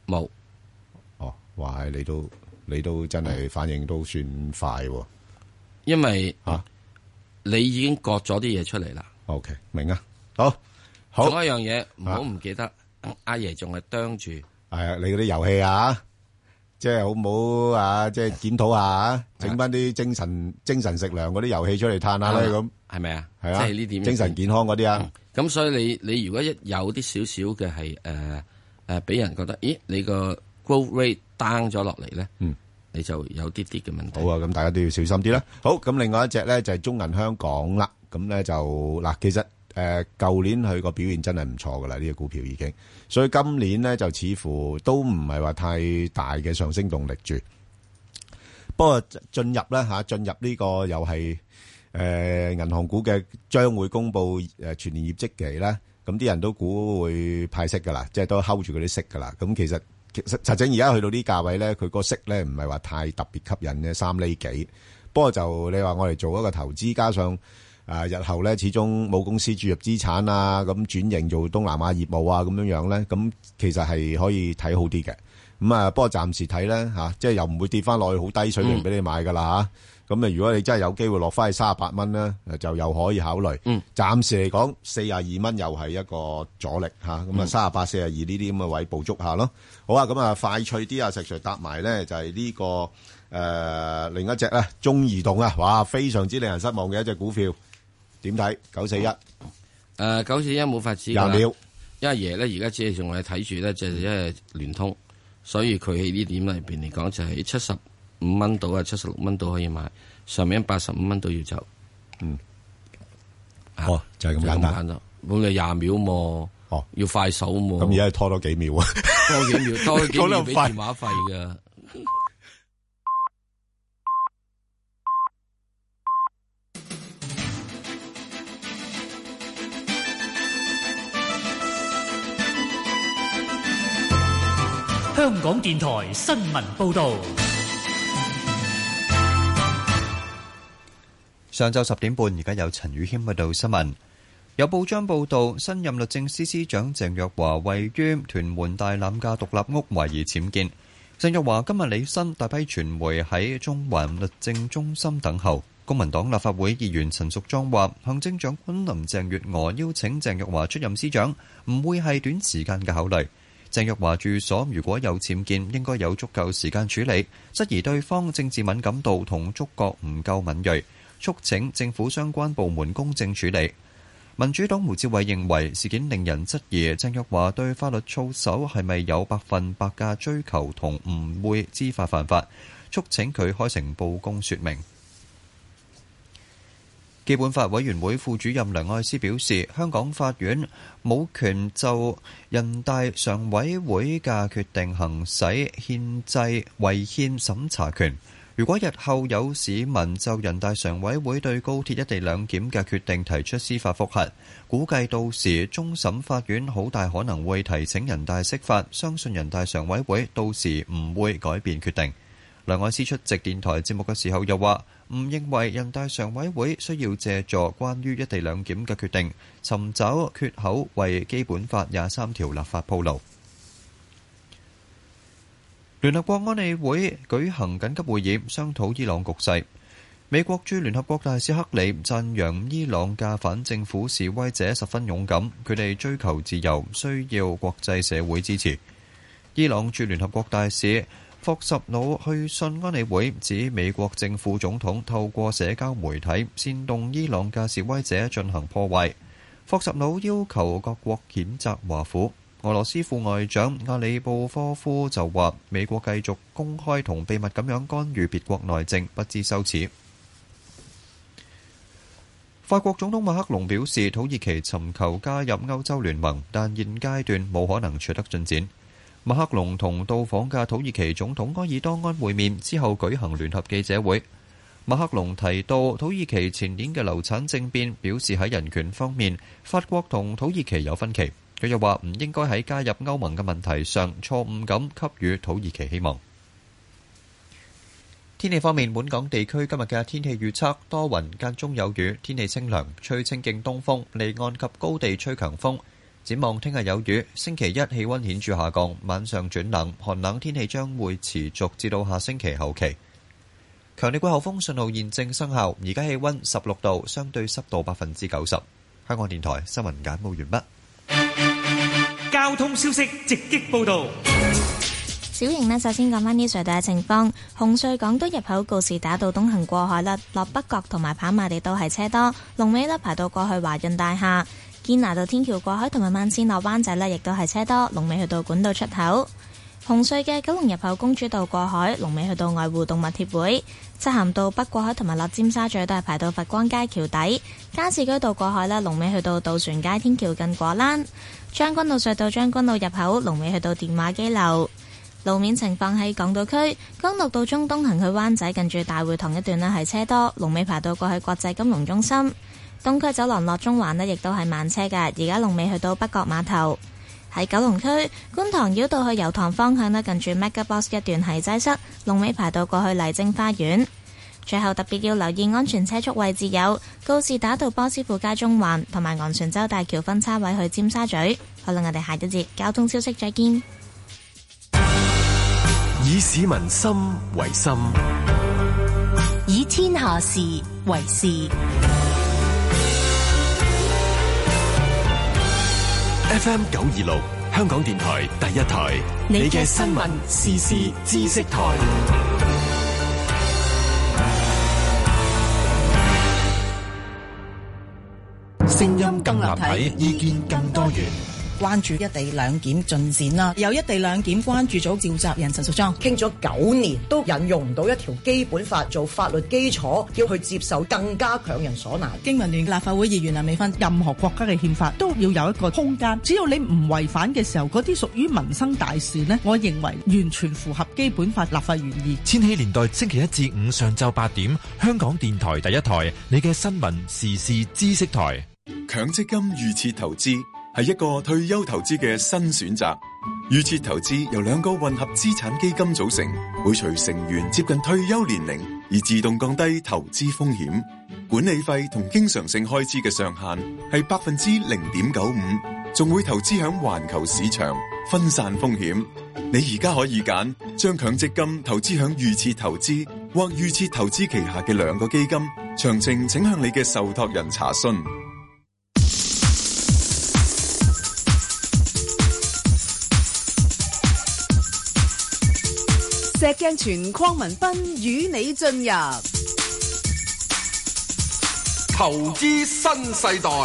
冇。 哦，哇！你都真係反應都算快喎。 因為你已經割咗啲嘢出嚟啦。 OK， 明啊。好。 仲有一樣嘢唔好唔記得，阿爺仲係啄住。 係啊，你嗰啲遊戲啊，即係好唔好啊？即係檢討下，整翻啲精神食糧嗰啲遊戲出嚟嘆下咧，咁係咪啊？ 係啊， 即係呢點精神健康嗰啲啊。 咁所以你如果一有啲少少嘅係俾人覺得，咦，你個 growth rate down 咗落嚟咧，你就有啲啲嘅問題。 好啊，咁大家都要小心啲啦。好，咁另外一隻咧就係中銀香港啦。咁咧就嗱，其實舊年佢個表現真係唔錯噶啦，呢個股票已經，所以今年咧就似乎都唔係話太大嘅上升動力住。不過進入呢個又係銀行股嘅將會公布全年業績期咧，咁啲人都估會派息噶啦，即係都 hold 住嗰啲息噶啦。咁其實實際而家去到呢價位咧，佢個息咧唔係話太特別吸引嘅3厘幾。不過就你話我哋做一個投資，加上日後咧始終冇公司注入資產啊，咁轉型做東南亞業務啊，咁樣咧，咁其實係可以睇好啲嘅。咁啊，不過暫時睇咧即係又唔會跌翻落去好低水平俾你買噶啦嚇。咁如果你真係有機會落翻去38蚊咧，就又可以考慮。暫時嚟講42蚊又係一個阻力嚇。咁啊38、42呢啲咁嘅位捕捉下咯。好啊，咁啊快脆啲啊，石 Sir 搭埋咧就係呢個另一隻咧中移動啊，哇，非常之令人失望嘅一隻股票。點睇941？941 冇法子。 20秒。 因為爺咧而家只係仲係睇住咧，就係因為聯通，所以佢喺呢點裏邊嚟講就係75蚊到啊，76蚊到可以買，上面85蚊都要走。 就係咁簡單。 冇你20秒喎。要快手喎。 咁而家拖多幾秒啊？ 多幾秒俾電話費㗎。 香港電台新聞報道。 上晝10點半，而家有陳宇謙報道新聞。有報章報道，新任律政司司長鄭若驊位於屯門大欖嘅獨立屋懷疑僭建。鄭若驊今日履新，大批傳媒喺中環律政中心等候。公民黨立法會議員陳淑莊話，行政長官林鄭月娥邀請鄭若驊出任司長，唔會係短時間嘅考慮。鄭若驊住所如果有僭建，應該有足夠時間處理，質疑對方政治敏感度同觸覺唔夠敏銳，促請政府相關部門公正處理。民主黨胡志偉認為事件令人質疑鄭若驊對法律操守係咪有100%嘅追求同唔會知法犯法，促請佢開誠佈公說明。基本法委員會副主任梁愛詩表示，香港法院冇權就人大常委會嘅決定行使憲制違憲審查權。如果日後有市民就人大常委會對高鐵一地兩檢嘅決定提出司法覆核，估計到時終審法院好大可能會提請人大釋法，相信人大常委會到時唔會改變決定。梁愛詩出席電台節目嘅時候又話，唔認為人大常委會需要借助關於一地兩檢嘅決定尋找缺口，為基本法23條立法鋪路。聯合國安理會舉行緊急會議，商討伊朗局勢。美國駐聯合國大使克里讚揚伊朗嘅反政府示威者十分勇敢，佢哋追求自由，需要國際社會支持。伊朗駐聯合國大使霍什努去信安理會，指美國正副總統透過社交媒體煽動伊朗嘅示威者進行破壞。霍什努要求各國譴責華府。俄羅斯副外長阿里布科夫就話，美國繼續公開同秘密咁樣干預別國內政，不知羞恥。法國總統馬克龍表示，土耳其尋求加入歐洲聯盟，但現階段冇可能取得進展。馬克龍同到訪嘅土耳其總統埃爾多安會面之後舉行聯合記者會。馬克龍提到土耳其前年嘅流產政變，表示喺人權方面，法國同土耳其有分歧。佢又話唔應該喺加入歐盟嘅問題上錯誤咁給予土耳其希望。天氣方面，本港地區今日嘅天氣預測多雲間中有雨，天氣清涼，吹清勁東風，離岸及高地吹強風。 展望聽日有雨，星期一氣溫顯著下降，晚上轉冷，寒冷天氣將會持續至到下星期後期。強烈季候風信號現正生效，而家氣溫16度，相對濕度90%。香港電台新聞簡報完畢。交通消息直擊報道。 小型呢，首先講返啲隧道嘅情況。紅隧港島入口告士打道東行過海啦，落北角同埋跑馬地都係車多，龍尾呢排到過去華潤大廈。堅拿道天橋過海同埋慢線落灣仔呢，亦都係車多，龍尾去到管道出口。紅隧嘅九龍入口公主道過海，龍尾去到愛護動物協會。漆咸道北過海同埋落尖沙咀都係排到佛光街橋底。加士居道過海呢，龍尾去到渡船街天橋近果欄。將軍澳隧道將軍澳入口，龍尾去到電話機樓。路面情況喺港島區，干諾道中東行去灣仔近住大會堂一段呢係車多，龍尾排到過去國際金融中心。東區走廊落中環呢亦都係慢車㗎，而家龍尾去到北角碼頭。喺九龍區，觀塘繞道去油塘方向呢近住 MegaBox 一段係擠塞，龍尾排到過去麗晶花園。最後特別要留意安全車速位置有告士打道波斯富街中環同埋昂船洲大橋分叉位去尖沙咀。好啦，我哋下一節交通消息再見。 以市民心為心， 以天下事為事。 FM 926，香港電台第一台，你嘅新聞時事知識台， 聲音更立體，意見更多元。關注一地兩檢進展啦，有一地兩檢關注組召集人陳淑莊傾咗9年，都引用唔到一條基本法做法律基礎，要去接受更加強人所難。 經民聯立法會議員梁美芬，任何國家嘅憲法都要有一個空間，只要你唔違反嘅時候，嗰啲屬於民生大事呢，我認為完全符合基本法立法原意。 千禧年代星期一至五上晝8點，香港電台第一台，你嘅新聞時事知識台。 強積金預設投資係一個退休投資嘅新選擇。預設投資由2個混合資產基金組成，會隨成員接近退休年齡而自動降低投資風險。管理費同經常性開支嘅上限係0.95%，仲會投資響環球市場，分散風險。你而家可以揀將強積金投資響預設投資或預設投資旗下嘅2個基金，詳情請向你嘅受託人查詢。 石鏡泉鄺民彬與你進入投資新世代。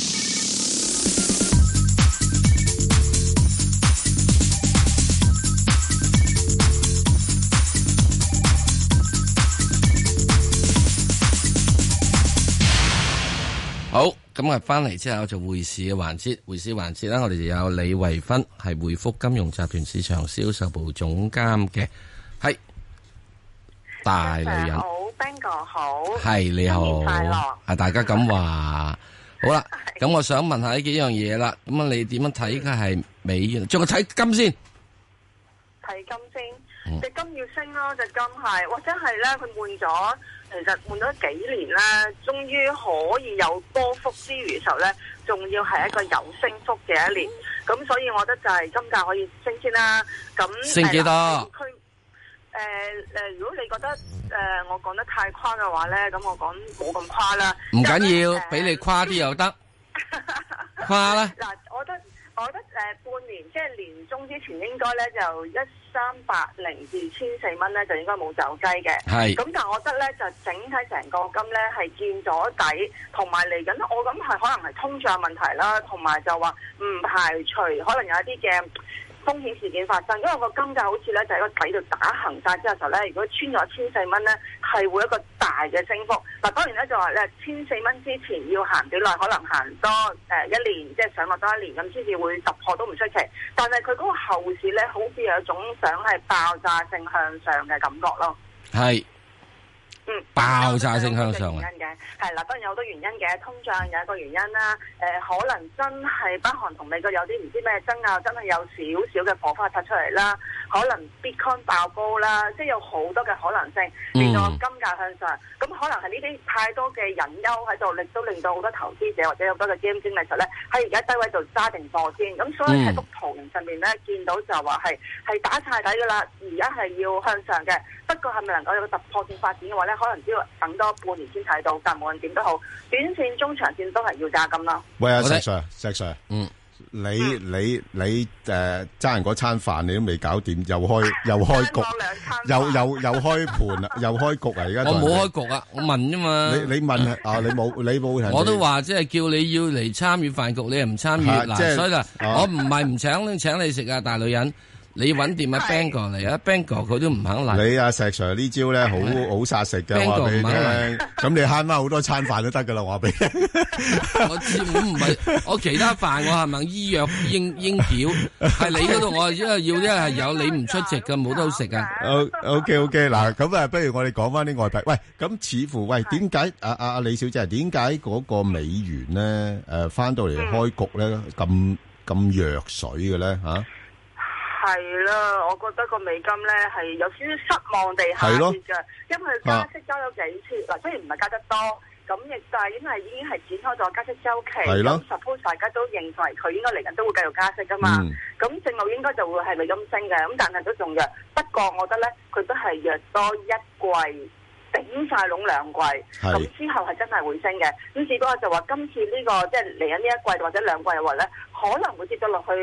好，咁啊，翻嚟之後就匯市嘅環節，匯市環節啦，我哋就有李慧芬，係匯福金融集團市場銷售部總監嘅。係大女人， 好 ，Ben 哥好， 係你好， 新年快樂， 係大家咁話。好啦，咁我想問下呢幾樣嘢啦。咁啊，你點樣睇？嘅係美元，仲係睇金先？ 睇金先，隻金要升咯，隻金係，或者係咧，佢換咗，其實換咗幾年咧，終於可以有波幅之餘嘅時候咧，仲要係一個有升幅嘅一年。咁所以我覺得就係金價可以升先啦。咁升幾多？ 如果你覺得我講得太誇嘅話咧，咁我講冇咁誇啦。 唔緊要，俾你誇啲又得，誇啦。 嗱，我覺得半年即係年中之前應該咧就1380至1400蚊咧就應該冇走雞嘅。係。咁但係我覺得咧就整體成個金咧係見咗底，同埋嚟緊我諗係可能係通脹問題啦，同埋就話唔排除可能有一啲嘅風險事件發生，因為個金價好似咧就喺個底度打橫晒之後時候咧，如果穿咗1400蚊咧，係會一個大嘅升幅。嗱，當然咧就話咧1400蚊之前要行幾耐，可能行多1年，即係上落多1年咁先至會突破都唔出奇。但係佢嗰個後市咧，好似有一種想係爆炸性向上嘅感覺咯。 係爆炸性向上原因嘅係啦，當然有好多原因嘅，通脹有一個原因啦。可能真係北韓同美國有啲唔知咩爭拗，真係有少少嘅火花擦出嚟啦。可能 Bitcoin 爆高啦，即係有好多嘅可能性，令到金價向上。咁可能係呢啲太多嘅隱憂喺度，亦都令到好多投資者或者有好多嘅基金經理實咧喺而家低位度揸定貨先。咁所以喺幅圖形上面咧見到就話係打晒底噶啦，而家係要向上嘅。不過係咪能夠有個突破性發展嘅話咧，可能只要等多半年先睇到。但無論點都好，短線、中長線都係要揸金啦。 喂，阿石 Sir，你揸人嗰餐飯你都未搞掂，又開局，又開盤啦，又開局啊！而家我冇開局啊，我問啫嘛。 你問啊？你冇人。 我都話即係叫你要嚟參與飯局，你又唔參與嗱，所以啦，我唔係唔請你食啊，大女人。你揾掂阿 Bang 哥嚟啊 ，Bang 哥佢都唔肯嚟。你阿石 Sir 呢招咧好殺食嘅，話俾你聽。咁你慳翻好多餐飯都得噶啦，話俾你。 我知我唔係，我其他飯我係咪醫藥應繳？係你嗰度我因為要係有你唔出席嘅，冇得好食啊。 OK， 嗱咁啊，不如我哋講翻啲外幣。喂，咁似乎點解阿李小姐點解嗰個美元咧翻到嚟開局咧咁弱水嘅咧嚇？ 係啦，我覺得個美金咧係有少少失望地下跌嘅，因為加息加咗幾次，嗱雖然唔係加得多，咁亦但係因為已經係展開咗加息週期，咁 suppose 大家都認為佢應該嚟緊都會繼續加息噶嘛，咁正路應該就會係美金升嘅，咁但係都仲弱，不過我覺得咧佢都係弱多一季。頂晒籠2季，咁之後係真係會升嘅。咁只不過就話今次呢個即係嚟緊呢一季或者2季嘅話咧，可能會跌咗落去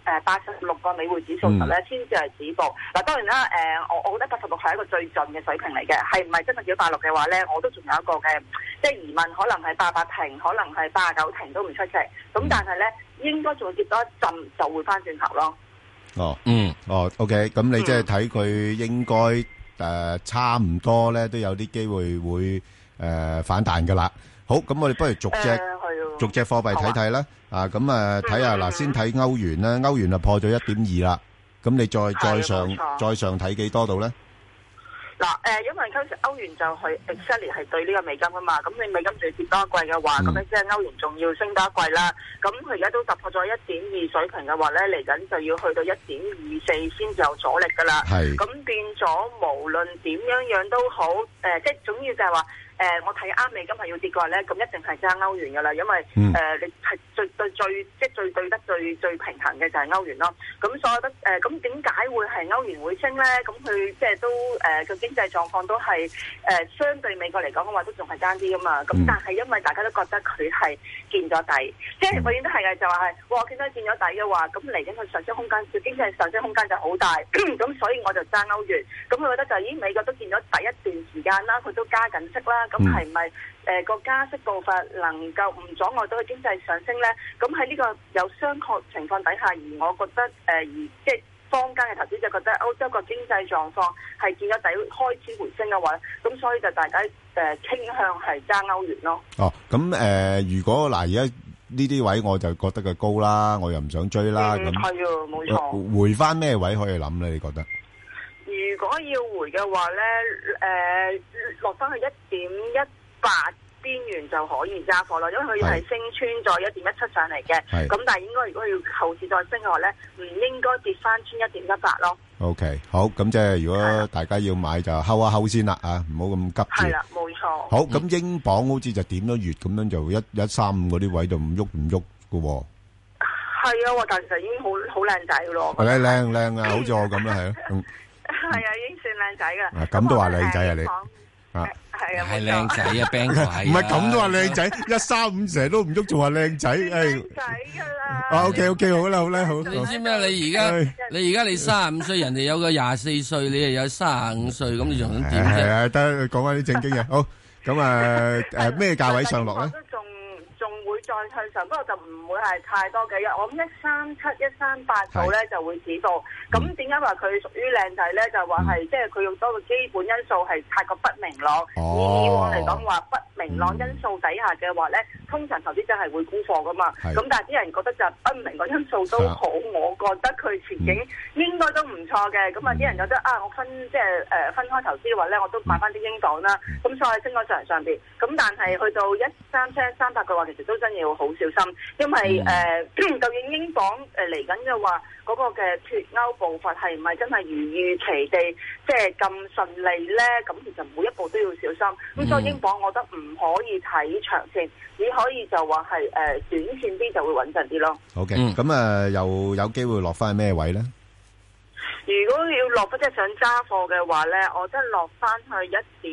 86個美匯指數實咧，先至係止步。嗱當然啦，我覺得86係一個最盡嘅水平嚟嘅，係唔係真係跌到86嘅話咧，我都仲有一個嘅即係疑問，可能係88停，可能係89停都唔出奇。咁但係咧，應該仲會跌多一陣就會翻轉頭咯。 OK， 咁你即係睇佢應該。差唔多咧，都有啲機會會反彈噶啦。好，咁我哋不如逐隻貨幣睇睇啦。咁睇下嗱，先睇歐元啦。歐元破咗 1.2 啦。咁你再上睇幾多度咧？ 嗱，因為歐元就係 exactly 係對呢個美金啊嘛，咁你美金仲要跌多一季嘅話，咁咧即係歐元仲要升多一季啦。咁佢而家都突破咗 1.2 水平嘅話咧，嚟緊就要去到 1.24 先至有阻力噶啦。咁變咗無論點樣都好，即係總要就係話。我睇啱美金係要跌嘅話咧，咁一定係揸歐元噶啦，因為你係最對得最平衡嘅就係歐元咯。咁所以我覺得咁點解會係歐元會升咧？咁佢即係都個經濟狀況都係相對美國嚟講嘅話都仲係爭啲噶嘛。咁但係因為大家都覺得佢係見咗底，即係永遠都係嘅，就話係我見到見咗底嘅話，咁嚟緊佢上升空間，佢經濟上升空間就好大。咁所以我就揸歐元。咁佢覺得就咦美國都見咗底一段時間啦，佢都加緊息啦。咁係咪個加息步伐能夠唔阻礙到佢經濟上升咧？咁喺呢個有商榷情況底下，而我覺得即係坊間嘅投資者覺得歐洲個經濟狀況係見咗底開始回升嘅話，咁所以就大家傾向係揸歐元咯。 咁如果嗱而家呢啲位我就覺得佢高啦，我又唔想追啦。咁係啊，冇錯。 回翻咩位可以諗咧？你覺得？ 如果要回嘅話咧，落翻去1.18邊緣就可以揸貨咯，因為佢係升穿咗1.17上嚟嘅。咁但係應該如果要後市再升嘅話咧，唔應該跌翻穿1.18咯。 OK， 好，咁即係如果大家要買就睺一睺先啦，唔好咁急住。 係啦，冇錯。 好，咁英鎊好似就點咗月咁樣就135嗰啲位就唔喐嘅喎。 係啊，但其實已經好靚仔咯。 靚啊，好似我咁啦，係啊。 係啊，已經算靚仔噶啦。 咁都話靚仔啊你？ 係啊， 係靚仔啊 ，Bang 哥係。 唔係咁都話靚仔，135成日都唔喐，仲話靚仔， 靚仔噶啦。 OK， 好啦，好。 你知咩？你而家你35歲，人哋有個24歲，你又有35歲，咁你仲想點啫？ 係啊，得講翻啲正經嘢。好，咁咩價位上落咧？ 仲會再向上，不過就唔會係太多嘅。我諗137、138度咧就會止步。咁點解話佢屬於靚仔咧？就話係即係佢用多個基本因素係太過不明朗。以往嚟講話不明朗因素底下嘅話咧， 通常投資者係會沽貨噶嘛。咁但係啲人覺得就不明個因素都好，我覺得佢前景應該都唔錯嘅。咁啊啲人覺得我分開投資嘅話咧，我都買翻啲英鎊啦。咁所以升咗上邊。咁但係去到13738嘅話，其實都真係要好小心，因為究竟英鎊嚟緊嘅話，嗰個嘅脱歐步伐係唔係真係如預期地即係咁順利咧？咁其實每一步都要小心。咁所以英鎊我覺得唔可以睇長線，只可以就話係短線啲就會穩陣啲咯。 好嘅，咁又有機會落翻去咩位咧？ 如果要落即係想揸貨嘅話咧，我覺得落翻去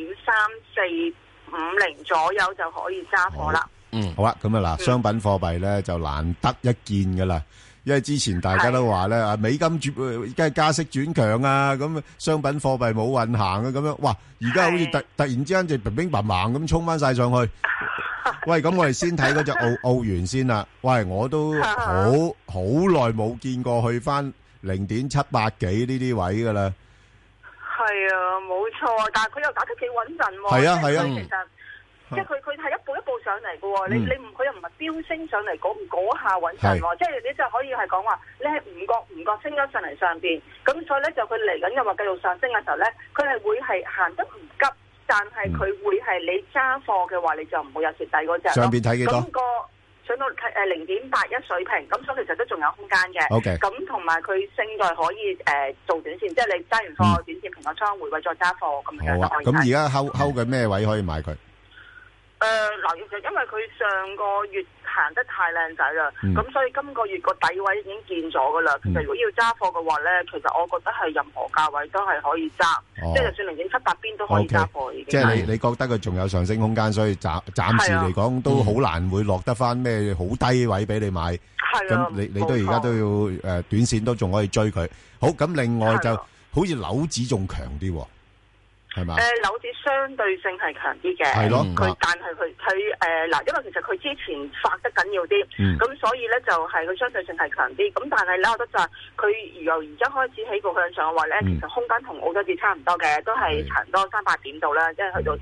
1.3450左右就可以揸貨啦。 好啊，咁嗱，商品貨幣咧就難得一見噶啦。因為之前大家都話咧，美金而家係加息轉強啊，咁商品貨幣冇運行啊，咁樣，哇！而家好似突然之間就乒乒乓乓咁衝翻晒上去。喂，咁我哋先睇嗰隻澳元先啦。喂，我都好耐冇見過去翻0.78幾呢啲位噶啦。 係啊，冇錯，但係佢又打得幾穩陣喎。 係啊，係啊。 其實即係佢係一步一步上嚟嘅喎，你佢又唔係飆升上嚟嗰下穩陣喎，即係你就可以係講話你係唔覺升咗上嚟上邊，咁所以咧就佢嚟緊又話繼續上升嘅時候咧，佢係會係行得唔急，但係佢會係你揸貨嘅話，你就唔會有蝕底嗰隻咯。上邊睇幾多？咁個上到0.81水平，咁所以其實都仲有空間嘅。 OK。 咁同埋佢升在可以做短線，即係你揸完貨短線平個倉回位再揸貨咁樣就可以。 咁而家睺緊咩位可以買佢？ 嗱，其實因為佢上個月行得太靚仔啦，咁所以今個月個底位已經見咗噶啦。其實如果要揸貨嘅話咧，其實我覺得係任何價位都係可以揸，即係就算0.78邊都可以揸貨已經。即係你覺得佢仲有上升空間，所以暫時嚟講都好難會落得翻咩好低位俾你買。係咁你都而家都要短線都仲可以追佢。好，咁另外就好似樓指仲強啲喎。係嘛？ 樓指相對性係強啲嘅， 係咯。 但係佢因為其實佢之前發得緊要啲，咁所以咧就係佢相對性係強啲。咁但係咧，我覺得就係佢由而家開始起步向上嘅話咧，其實空間同澳洲指差唔多嘅，都係差唔多300點度啦，即係去到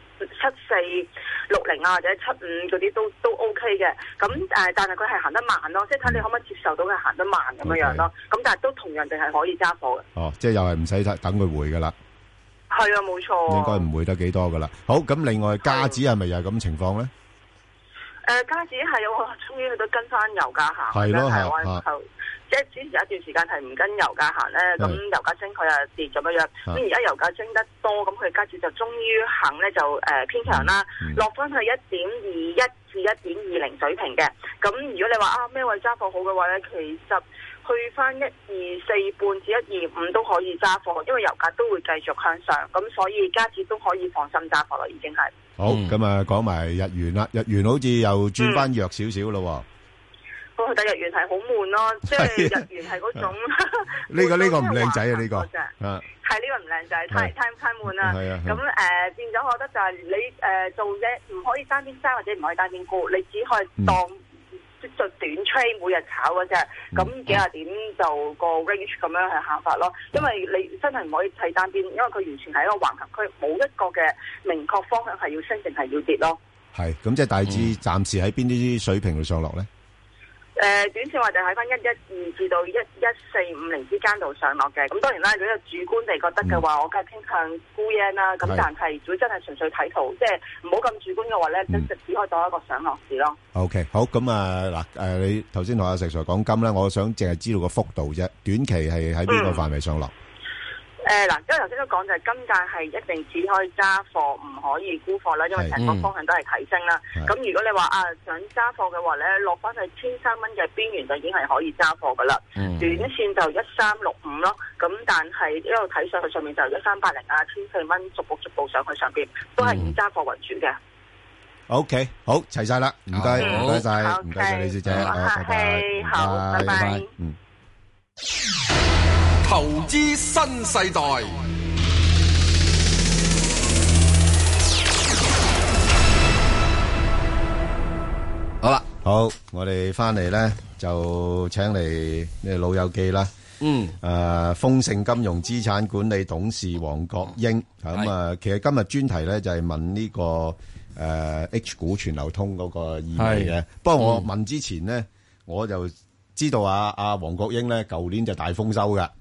7460啊或者75嗰啲都 OK 嘅。咁但係佢係行得慢咯，即係睇你可唔可以接受到佢行得慢咁樣咯。咁但係都同樣地係可以揸貨嘅。 哦，即係又係唔使等佢回噶啦。 係啊，冇錯。應該唔會得幾多噶啦。好，咁另外加指係咪又係咁情況咧？ 加指係我終於去到跟翻油價行。 係咯， 係。即係之前有一段時間係唔跟油價行咧，咁油價升佢又跌咁樣。咁而家油價升得多，咁佢加指就終於肯咧就偏強啦，落翻去1.21至1.20水平嘅。咁如果你話咩位揸貨好嘅話咧，其實去翻124半至125都可以揸貨，因為油價都會繼續向上，咁所以加指都可以放心揸貨啦，已經係。 好，咁啊講埋日元啦，日元好似又轉翻弱少少咯。 但日元係好悶咯，即係日元係嗰種。 呢個唔靚仔啊！呢個係呢個唔靚仔，太悶啦。咁變咗，我覺得就係你做嘢唔可以單邊揸或者唔可以單邊沽，你只可以當做短 trade 每日炒嗰隻，咁幾廿點就個 range 咁樣去行法咯。因為你真係唔可以睇單邊，因為佢完全係一個橫行區，冇一個嘅明確方向係要升定係要跌咯。 係，咁即係大致暫時喺邊啲水平度上落咧？ 短線話就喺翻112至到11450之間度上落嘅，咁當然啦，如果有主觀地覺得嘅話，我梗係傾向沽 yen 啦。咁但係如果真係純粹睇圖，即係唔好咁主觀嘅話咧，就只可以當一個上落市咯。 OK， 好，咁啊嗱，你頭先同阿石 Sir 講金咧，我想淨係知道個幅度啫，短期係喺邊個範圍上落？ 嗱，因為頭先都講就係金價係一定只可以揸貨，唔可以沽貨啦，因為成個方向都係提升啦。咁如果你話想揸貨嘅話咧，落翻去1300蚊嘅邊緣就已經係可以揸貨噶啦。短線就1365咯，咁但係一路睇上去上面就1380啊，1400蚊逐步上去上邊，都係以揸貨為主嘅。 OK， 好，齊晒啦，唔該晒，唔該晒李小姐， 拜拜，好，拜拜。 投資新世代， 好啦， 好，我哋翻嚟咧就請嚟呢老友記啦，豐盛金融資產管理董事黃國英，咁其實今日專題咧就係問呢個 H 股全流通嗰個意味嘅。不過我問之前咧，我就知道阿黃國英咧，舊年就大豐收㗎。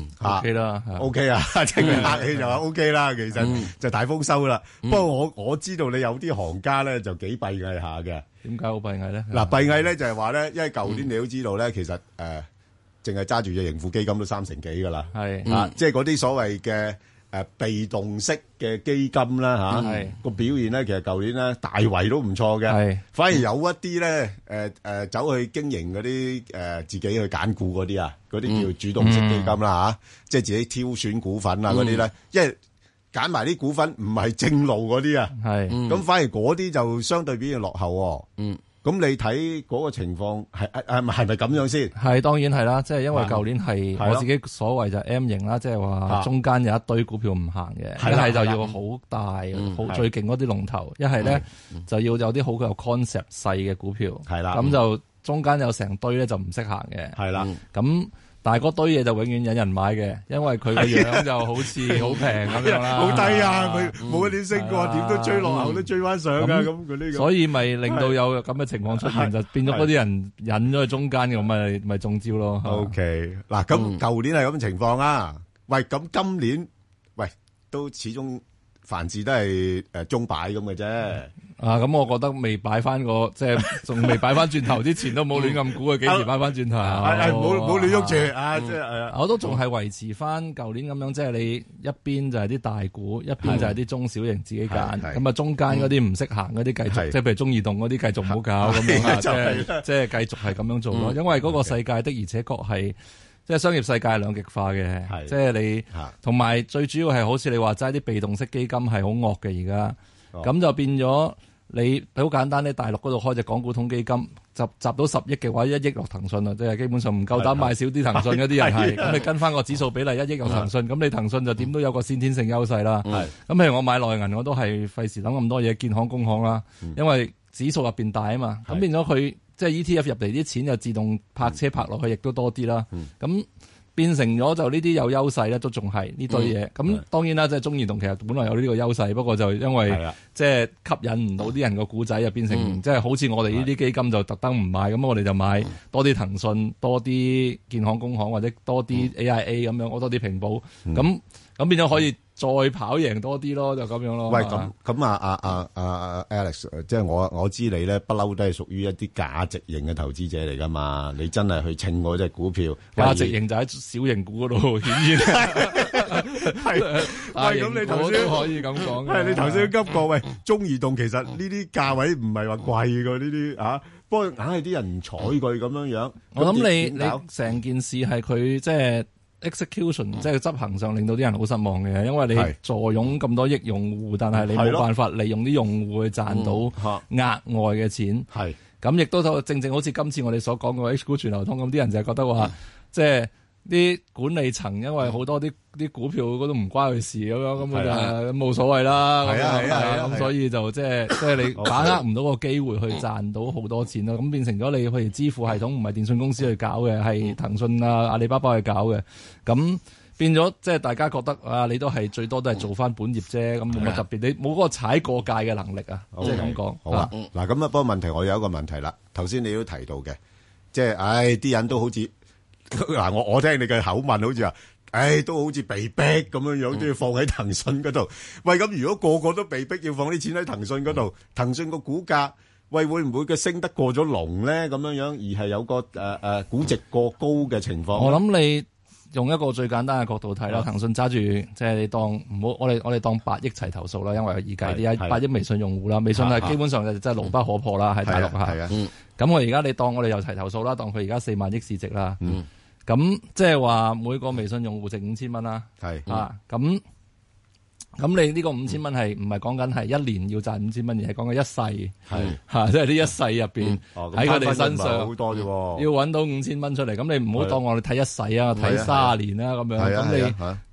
OK 啦 ，OK 啊，即係佢客氣就話 OK 啦，其實就大豐收啦。不過我知道你有啲行家咧就幾閉翳下嘅。 點解好閉翳咧？ 嗱，閉翳咧就係話咧，因為舊年你都知道咧，其實淨係揸住隻盈富基金都3成幾㗎啦。即係嗰啲所謂嘅被動式嘅基金啦個表現咧，其實舊年咧大圍都唔錯嘅。反而有一啲咧走去經營嗰啲自己去揀股嗰啲啊，嗰啲叫主動式基金啦即係自己挑選股份啊嗰啲咧，因為揀埋啲股份唔係正路嗰啲啊，咁反而嗰啲就相對表現落後。咁你睇嗰個情況係咪咁樣先？ 係當然係啦，即係因為舊年係我自己所謂就 M 型啦，即係話中間有一堆股票唔行嘅，一係就要好大好最勁嗰啲龍頭，一係咧就要有啲好有 concept 細嘅股票，咁就中間有成堆咧就唔識行嘅，咁。但係嗰堆嘢就永遠引人買嘅，因為佢個樣就好似好平咁樣啦， 好低啊！佢冇一點升過，點都追落後都追翻上㗎咁佢呢個。 所以咪令到有咁嘅情況出現，就變咗嗰啲人引咗去中間嘅，咪中招咯。 OK，嗱咁舊年係咁嘅情況啊，喂咁今年都始終凡事都係鐘擺咁嘅啫。 咁我覺得未擺翻個，即係仲未擺翻轉頭之前都冇亂咁估佢幾時擺翻轉頭。 冇亂喐住啊！即係我都仲係維持翻舊年咁樣，即係你一邊就係啲大股，一邊就係啲中小型自己揀。咁啊，中間嗰啲唔識行嗰啲繼續，即係譬如中移動嗰啲繼續唔好搞咁樣，即係繼續係咁樣做咯。因為嗰個世界的而且確係。即係商業世界係兩極化嘅，即係你同埋最主要係好似你話齋啲被動式基金係好惡嘅而家，咁就變咗你好簡單咧，大陸嗰度開隻港股通基金，集到10億嘅話，1億落騰訊啦，即係基本上唔夠膽買少啲騰訊嗰啲人係，咁你跟翻個指數比例1億落騰訊，咁你騰訊就點都有個先天性優勢啦。咁譬如我買內銀，我都係費事諗咁多嘢，建行、工行啦，因為指數入邊大啊嘛，咁變咗佢。即係 ETF 入嚟啲錢就自動泊車泊落去，亦都多啲啦。咁變成咗就呢啲有優勢咧，都仲係呢堆嘢。咁當然啦，即係中移動其實本來有呢個優勢，不過就因為即係吸引唔到啲人個股仔，就變成即係好似我哋呢啲基金就特登唔買，咁我哋就買多啲騰訊、多啲建行、工行或者多啲 AIA 咁樣，我多啲平保。咁變咗可以再跑贏多啲咯，就咁樣咯。 喂，咁啊 Alex， 即係我知你咧不嬲都係屬於一啲價值型嘅投資者嚟噶嘛？你真係去稱嗰隻股票， 價值型就喺小型股嗰度顯現。係，咁你頭先可以咁講。 係你頭先急過，喂，中移動其實呢啲價位唔係話貴㗎呢啲啊，不過硬係啲人唔睬佢咁樣樣。 我諗你成件事係佢即係。execution 即係執行上令到啲人好失望嘅，因為你坐擁咁多億用戶，但係你冇辦法利用啲用戶去賺到額外嘅錢。咁亦都正正好似今次我哋所講嘅 H 股全流通咁，啲人就係覺得話，即係啲管理層因為好多啲股票嗰都唔關佢事咁樣，咁就冇所謂啦。咁所以就即係你把握唔到個機會去賺到好多錢咯。咁變成咗你譬如支付系統唔係電信公司去搞嘅，係騰訊啊、阿里巴巴去搞嘅。咁變咗即係大家覺得啊，你都係最多都係做翻本業啫，咁冇乜特別，你冇嗰個踩過界嘅能力啊，即係咁講。 好啊，嗱咁啊，不過問題我有一個問題啦。頭先你都提到嘅，即係啲人都好似。嗱，我聽你嘅口吻好似話，都好似被逼咁樣樣都要放喺騰訊嗰度。喂，咁如果個個都被逼要放啲錢喺騰訊嗰度，騰訊個股價，喂會唔會嘅升得過咗龍咧？咁樣樣而係有個估值過高嘅情況。 我諗你用一個最簡單嘅角度睇啦，騰訊揸住即係你當唔好，我哋當8億齊頭數啦，因為而家啲8億微信用戶啦，微信係基本上就真係牢不可破啦，喺大陸嚇。咁我而家你當我哋又齊頭數啦，當佢而家4萬億市值啦。咁即係話每個微信用戶值5000蚊啦，咁你呢個5000蚊係唔係講緊係一年要賺5000蚊，而係講緊一世，即係呢一世入邊喺佢哋身上好多啫， 要揾到5000蚊出嚟。咁你唔好當我哋睇一世啊，睇30年啦咁樣。咁你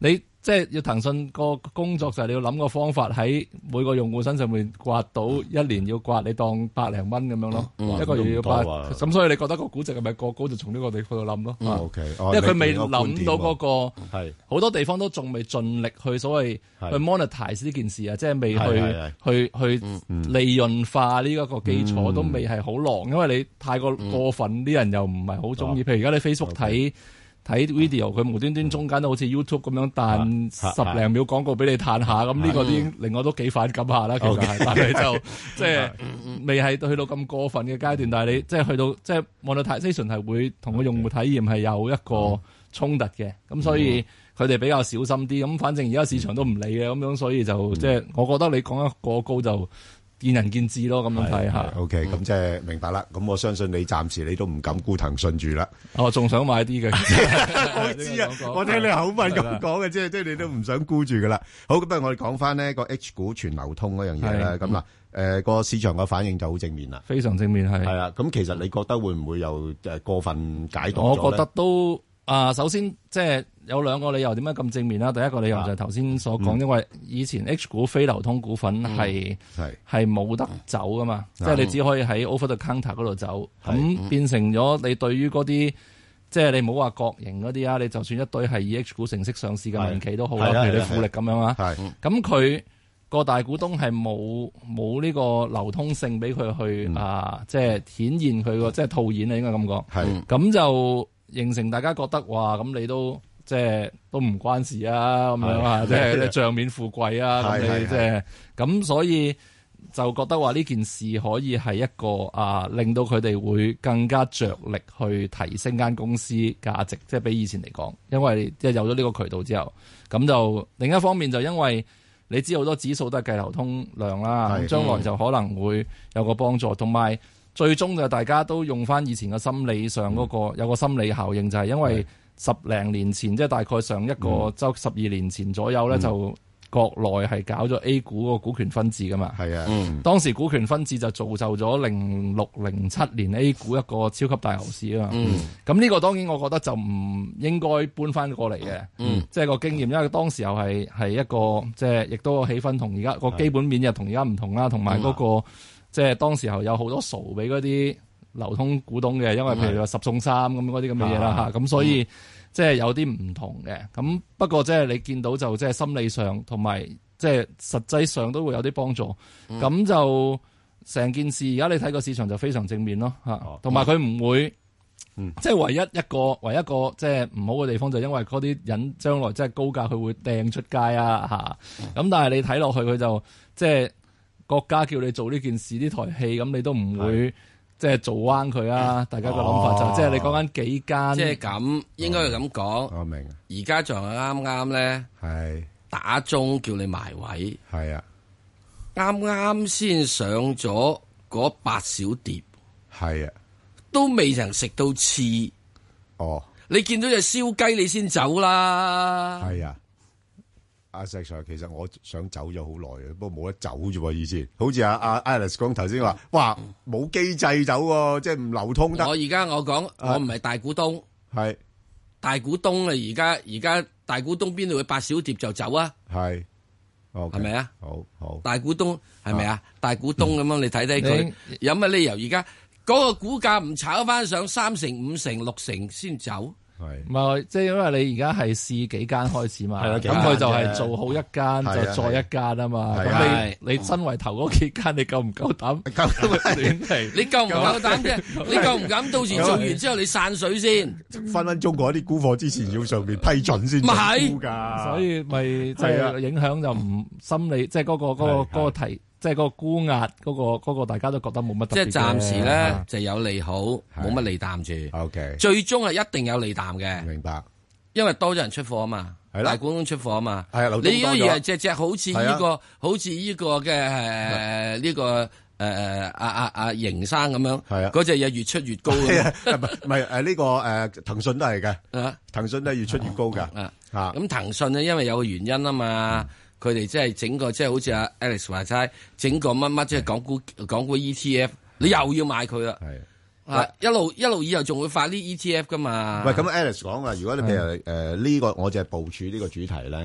即係要騰訊個工作就係你要諗個方法喺每個用戶身上面刮到一年要刮你當100零蚊咁樣咯，一個月要刮。咁所以你覺得個估值係咪過高就從呢個地方度諗咯。 OK， 因為佢未諗到嗰個好多地方都仲未盡力去所謂去 monetize 呢件事啊，即係未去利潤化呢一個基礎都未係好狼，因為你太過分，啲人又唔係好中意。譬如而家你 Facebook 睇 video， 佢無端端中間都好似 YouTube 咁樣彈10零秒廣告俾你嘆下，咁呢個已經令我都幾反感下啦。其實係，但係就即係未係去到咁過分嘅階段。但係你即係去到即係 monetization 係會同個用戶體驗係有一個衝突嘅，咁所以佢哋比較小心啲。咁反正而家市場都唔理嘅，咁樣所以就即係我覺得你講得過高就見仁見智咯，咁樣睇下。 OK，咁即係明白啦。咁我相信你暫時你都唔敢沽騰訊住啦。 我仲想買啲嘅。 我知啊，我聽你口吻咁講嘅，即係你都唔想沽住噶啦。好，咁不如我哋講翻呢個 H 股全流通嗰樣嘢啦。咁嗱，個市場嘅反應就好正面啦， 非常正面係。 係啊，咁其實你覺得會唔會又過分解讀咗咧？ 我覺得都首先即係有兩個理由點解咁正面啦。第一個理由就係頭先所講，因為以前 H 股非流通股份係冇得走噶嘛，即係你只可以喺 over the counter 嗰度走，咁變成咗你對於嗰啲即係你唔好話國營嗰啲啊，你就算一堆係以 H 股程式上市嘅民企都好啦，譬如你富力咁樣啊，咁佢個大股東係冇呢個流通性俾佢去即係顯現佢個即係套現啊，應該咁講，咁就形成大家覺得哇，咁你都即係都唔關事啊，咁樣啊，即係你帳面富貴啊，咁你即係咁，所以就覺得話呢件事可以係一個令到佢哋會更加着力去提升間公司價值，即係比以前嚟講，因為即係有咗呢個渠道之後，咁就另一方面就因為你知好多指數都係計流通量啦，將來就可能會有個幫助，同埋最終就大家都用翻以前嘅心理上嗰個有個心理效應，就係因為10零年前即係大概上一個周12年前左右咧，就國內係搞咗 A 股個股權分置噶嘛。係啊，當時股權分置就造就咗06、07年 A 股一個超級大牛市啊嘛。咁呢個當然我覺得就唔應該搬翻過嚟嘅。即係個經驗，因為當時候係一個即係亦都氣氛同而家個基本面又同而家唔同啦，同埋嗰個。即係當時候有好多數俾嗰啲流通股東嘅，因為譬如話10送3咁嗰啲咁嘅嘢啦嚇，咁所以即係有啲唔同嘅。咁不過即係你見到就即係心理上同埋即係實際上都會有啲幫助。咁就成件事而家你睇個市場就非常正面咯嚇，同埋佢唔會即係唯一一個即係唔好嘅地方就因為嗰啲人將來即係高價佢會掟出街啊嚇。咁但係你睇落去佢就即係。國家叫你做呢件事呢台戲，咁你都唔會即係做彎佢啊！大家個諗法就即係你講緊幾間， 即係咁應該係咁講。我明。而家仲係啱啱咧，係打鐘叫你埋位，係啊，啱啱先上咗嗰8小碟，係啊，都未曾食到翅。哦，你見到隻燒雞你先走啦。係啊。阿石 Sir， 其實我想走咗好耐嘅，不過冇得走啫喎。以前好似阿 Alice 講頭先話，哇冇機制走喎，即係唔流通得。我講，我唔係大股東，係大股東啊！而家大股東邊度會8小碟就走啊？係，係咪啊？好，大股東係咪啊？大股東咁樣，你睇睇佢有乜理由而家嗰個股價唔炒翻上3成、5成、6成先走？係，唔係即係因為你而家係試幾間開始嘛，咁佢就係做好一間就再一間啊嘛。咁你身為頭嗰幾間，你夠唔夠膽？亂嚟？你夠唔夠膽啫？你夠唔敢到時做完之後你散水先？分分鐘嗰啲沽貨之前要上邊批准先沽㗎，所以咪即係影響就唔心理，即係嗰個提。即係嗰個沽壓，嗰個大家都覺得冇乜特別嘅。即係暫時咧就有利好，冇乜利淡住。OK，最終係一定有利淡嘅。明白，因為多咗人出貨啊嘛，大股東出貨啊嘛。係啊，你如果而係隻好似呢個，好似呢個嘅呢個阿邢生咁樣，係啊，嗰隻嘢越出越高。唔係呢個騰訊都係嘅，騰訊都係越出越高㗎。咁騰訊咧，因為有個原因啊嘛。佢哋即係整個即係好似阿 Alex 話齋，整個乜乜即係港股 ETF， 你又要買佢啦。係一路以後仲會發啲 ETF 噶嘛？喂，咁 Alex 講啊，如果你譬如呢個我就係部署呢個主題咧，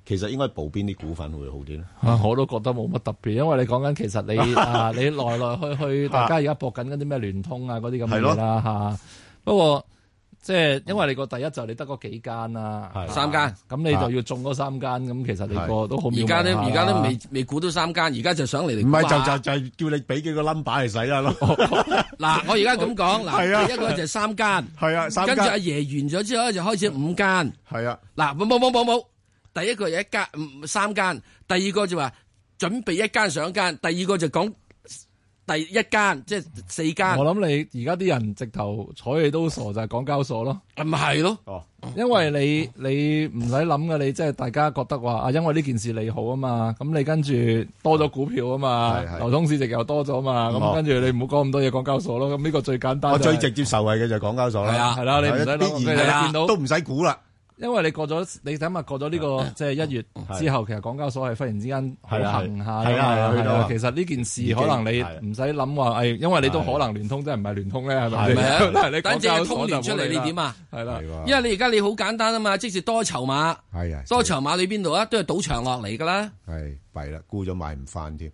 其實應該補邊啲股份會好啲咧？ 我都覺得冇乜特別，因為你講緊其實你你來來去，大家而家搏緊嗰啲咩聯通啊嗰啲咁嘅嘢啦嚇。不過即係因為你個第一就你得嗰幾間啦 ，3間， 咁你就要中嗰3間，咁其實你個都好渺茫。 而家都未估到3間，而家就上嚟唔係就係叫你俾幾個 number 嚟使啦咯。 嗱，我而家咁講，嗱，第一個就係3間， 係啊，3間， 跟住阿爺完咗之後就開始5間， 係啊， 嗱，冇，第一個有3間，第二個就話準備1間上間，第二個就講。第一間即係4間， 我諗你而家啲人直頭睬你都傻，就係港交所咯， 咪係咯， 因為你唔使諗嘅，你即係大家覺得話因為呢件事利好啊嘛，咁你跟住多咗股票啊嘛，流通市值又多咗嘛，咁跟住你唔好講咁多嘢港交所咯，咁呢個最簡單。 我最直接受惠嘅就係港交所啦， 係啦，你唔使諗，見到都唔使估啦。 因為你過咗，你睇下過咗呢個即係1月之後，其實港交所係忽然之間好行下嘅。其實呢件事可能你唔使諗話，因為你都可能聯通，即係唔係聯通咧，係咪？係咪啊？你港交所就出嚟， 你點啊？ 係啦， 因為你而家你好簡單啊嘛，即是多籌碼，多籌碼你邊度啊？都係賭場落嚟噶啦。 係弊啦，沽咗買唔翻添。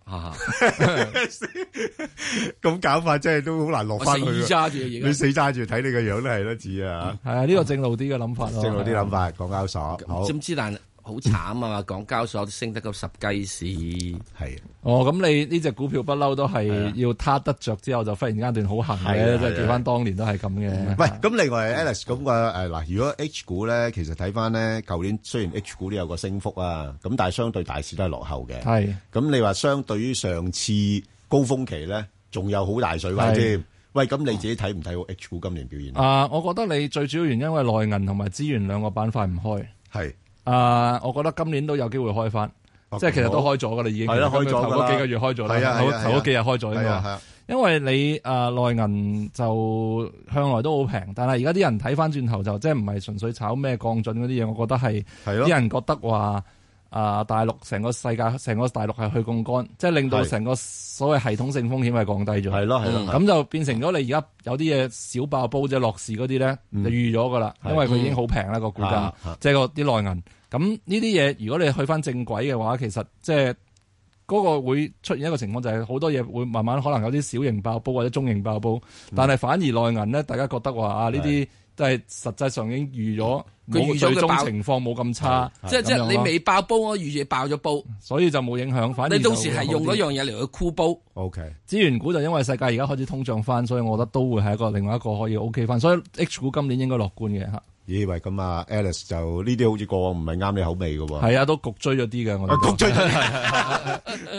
咁搞法真係都好難落翻去。 你死揸住， 你死揸住睇你個樣都係得似啊！ 係啊，呢個正路啲嘅諗法咯。 正路啲諗法，港交所好。 知唔知？但好慘啊嘛！港交所升得個10雞市。 係。 咁你呢隻股票不嬲都係要撻得着之後，就忽然間段好行嘅，即係記翻當年都係咁嘅。 喂，咁另外 Alex 咁嘅嗱，如果 H 股咧，其實睇翻咧，舊年雖然 H 股都有個升幅啊，咁但係相對大市都係落後嘅。 係。 咁你話相對於上次高峰期咧，仲有好大水位添。喂，咁你自己睇唔睇好 H 股今年表現？ 我覺得你最主要原因因為內銀同埋資源兩個板塊唔開。 係。 我覺得今年都有機會開翻，即係其實都開咗噶啦，已經係啦，開咗頭嗰幾個月開咗啦，頭嗰幾日開咗啊嘛。因為你內銀就向來都好平，但係而家啲人睇翻轉頭就即係唔係純粹炒咩降準嗰啲嘢，我覺得係啲人覺得話大陸成個世界成個大陸係去槓桿，即係令到成個所謂系統性風險係降低咗。係咯，咁就變成咗你而家有啲嘢小爆煲即係落市嗰啲咧，就預咗噶啦，因為佢已經好平啦個股價，即係個啲內銀。咁呢啲嘢，如果你去翻正軌嘅話，其實即係嗰個會出現一個情況，就係好多嘢會慢慢可能有啲小型爆煲或者中型爆煲，但係反而內銀咧，大家覺得話呢啲都係實際上已經預咗，佢最終情況冇咁差， 即係你未爆煲，我預住爆咗煲， 所以就冇影響。反而你到時係用嗰樣嘢嚟去箍煲。 OK， 資源股就因為世界而家開始通脹翻，所以我覺得都會係另外一個可以 OK 翻，所以 H 股今年應該樂觀嘅嚇。 咦喂，咁啊 Alice 就呢啲好似過往唔係啱你口味嘅喎。 係啊，都焗追咗啲嘅，我哋焗追咗。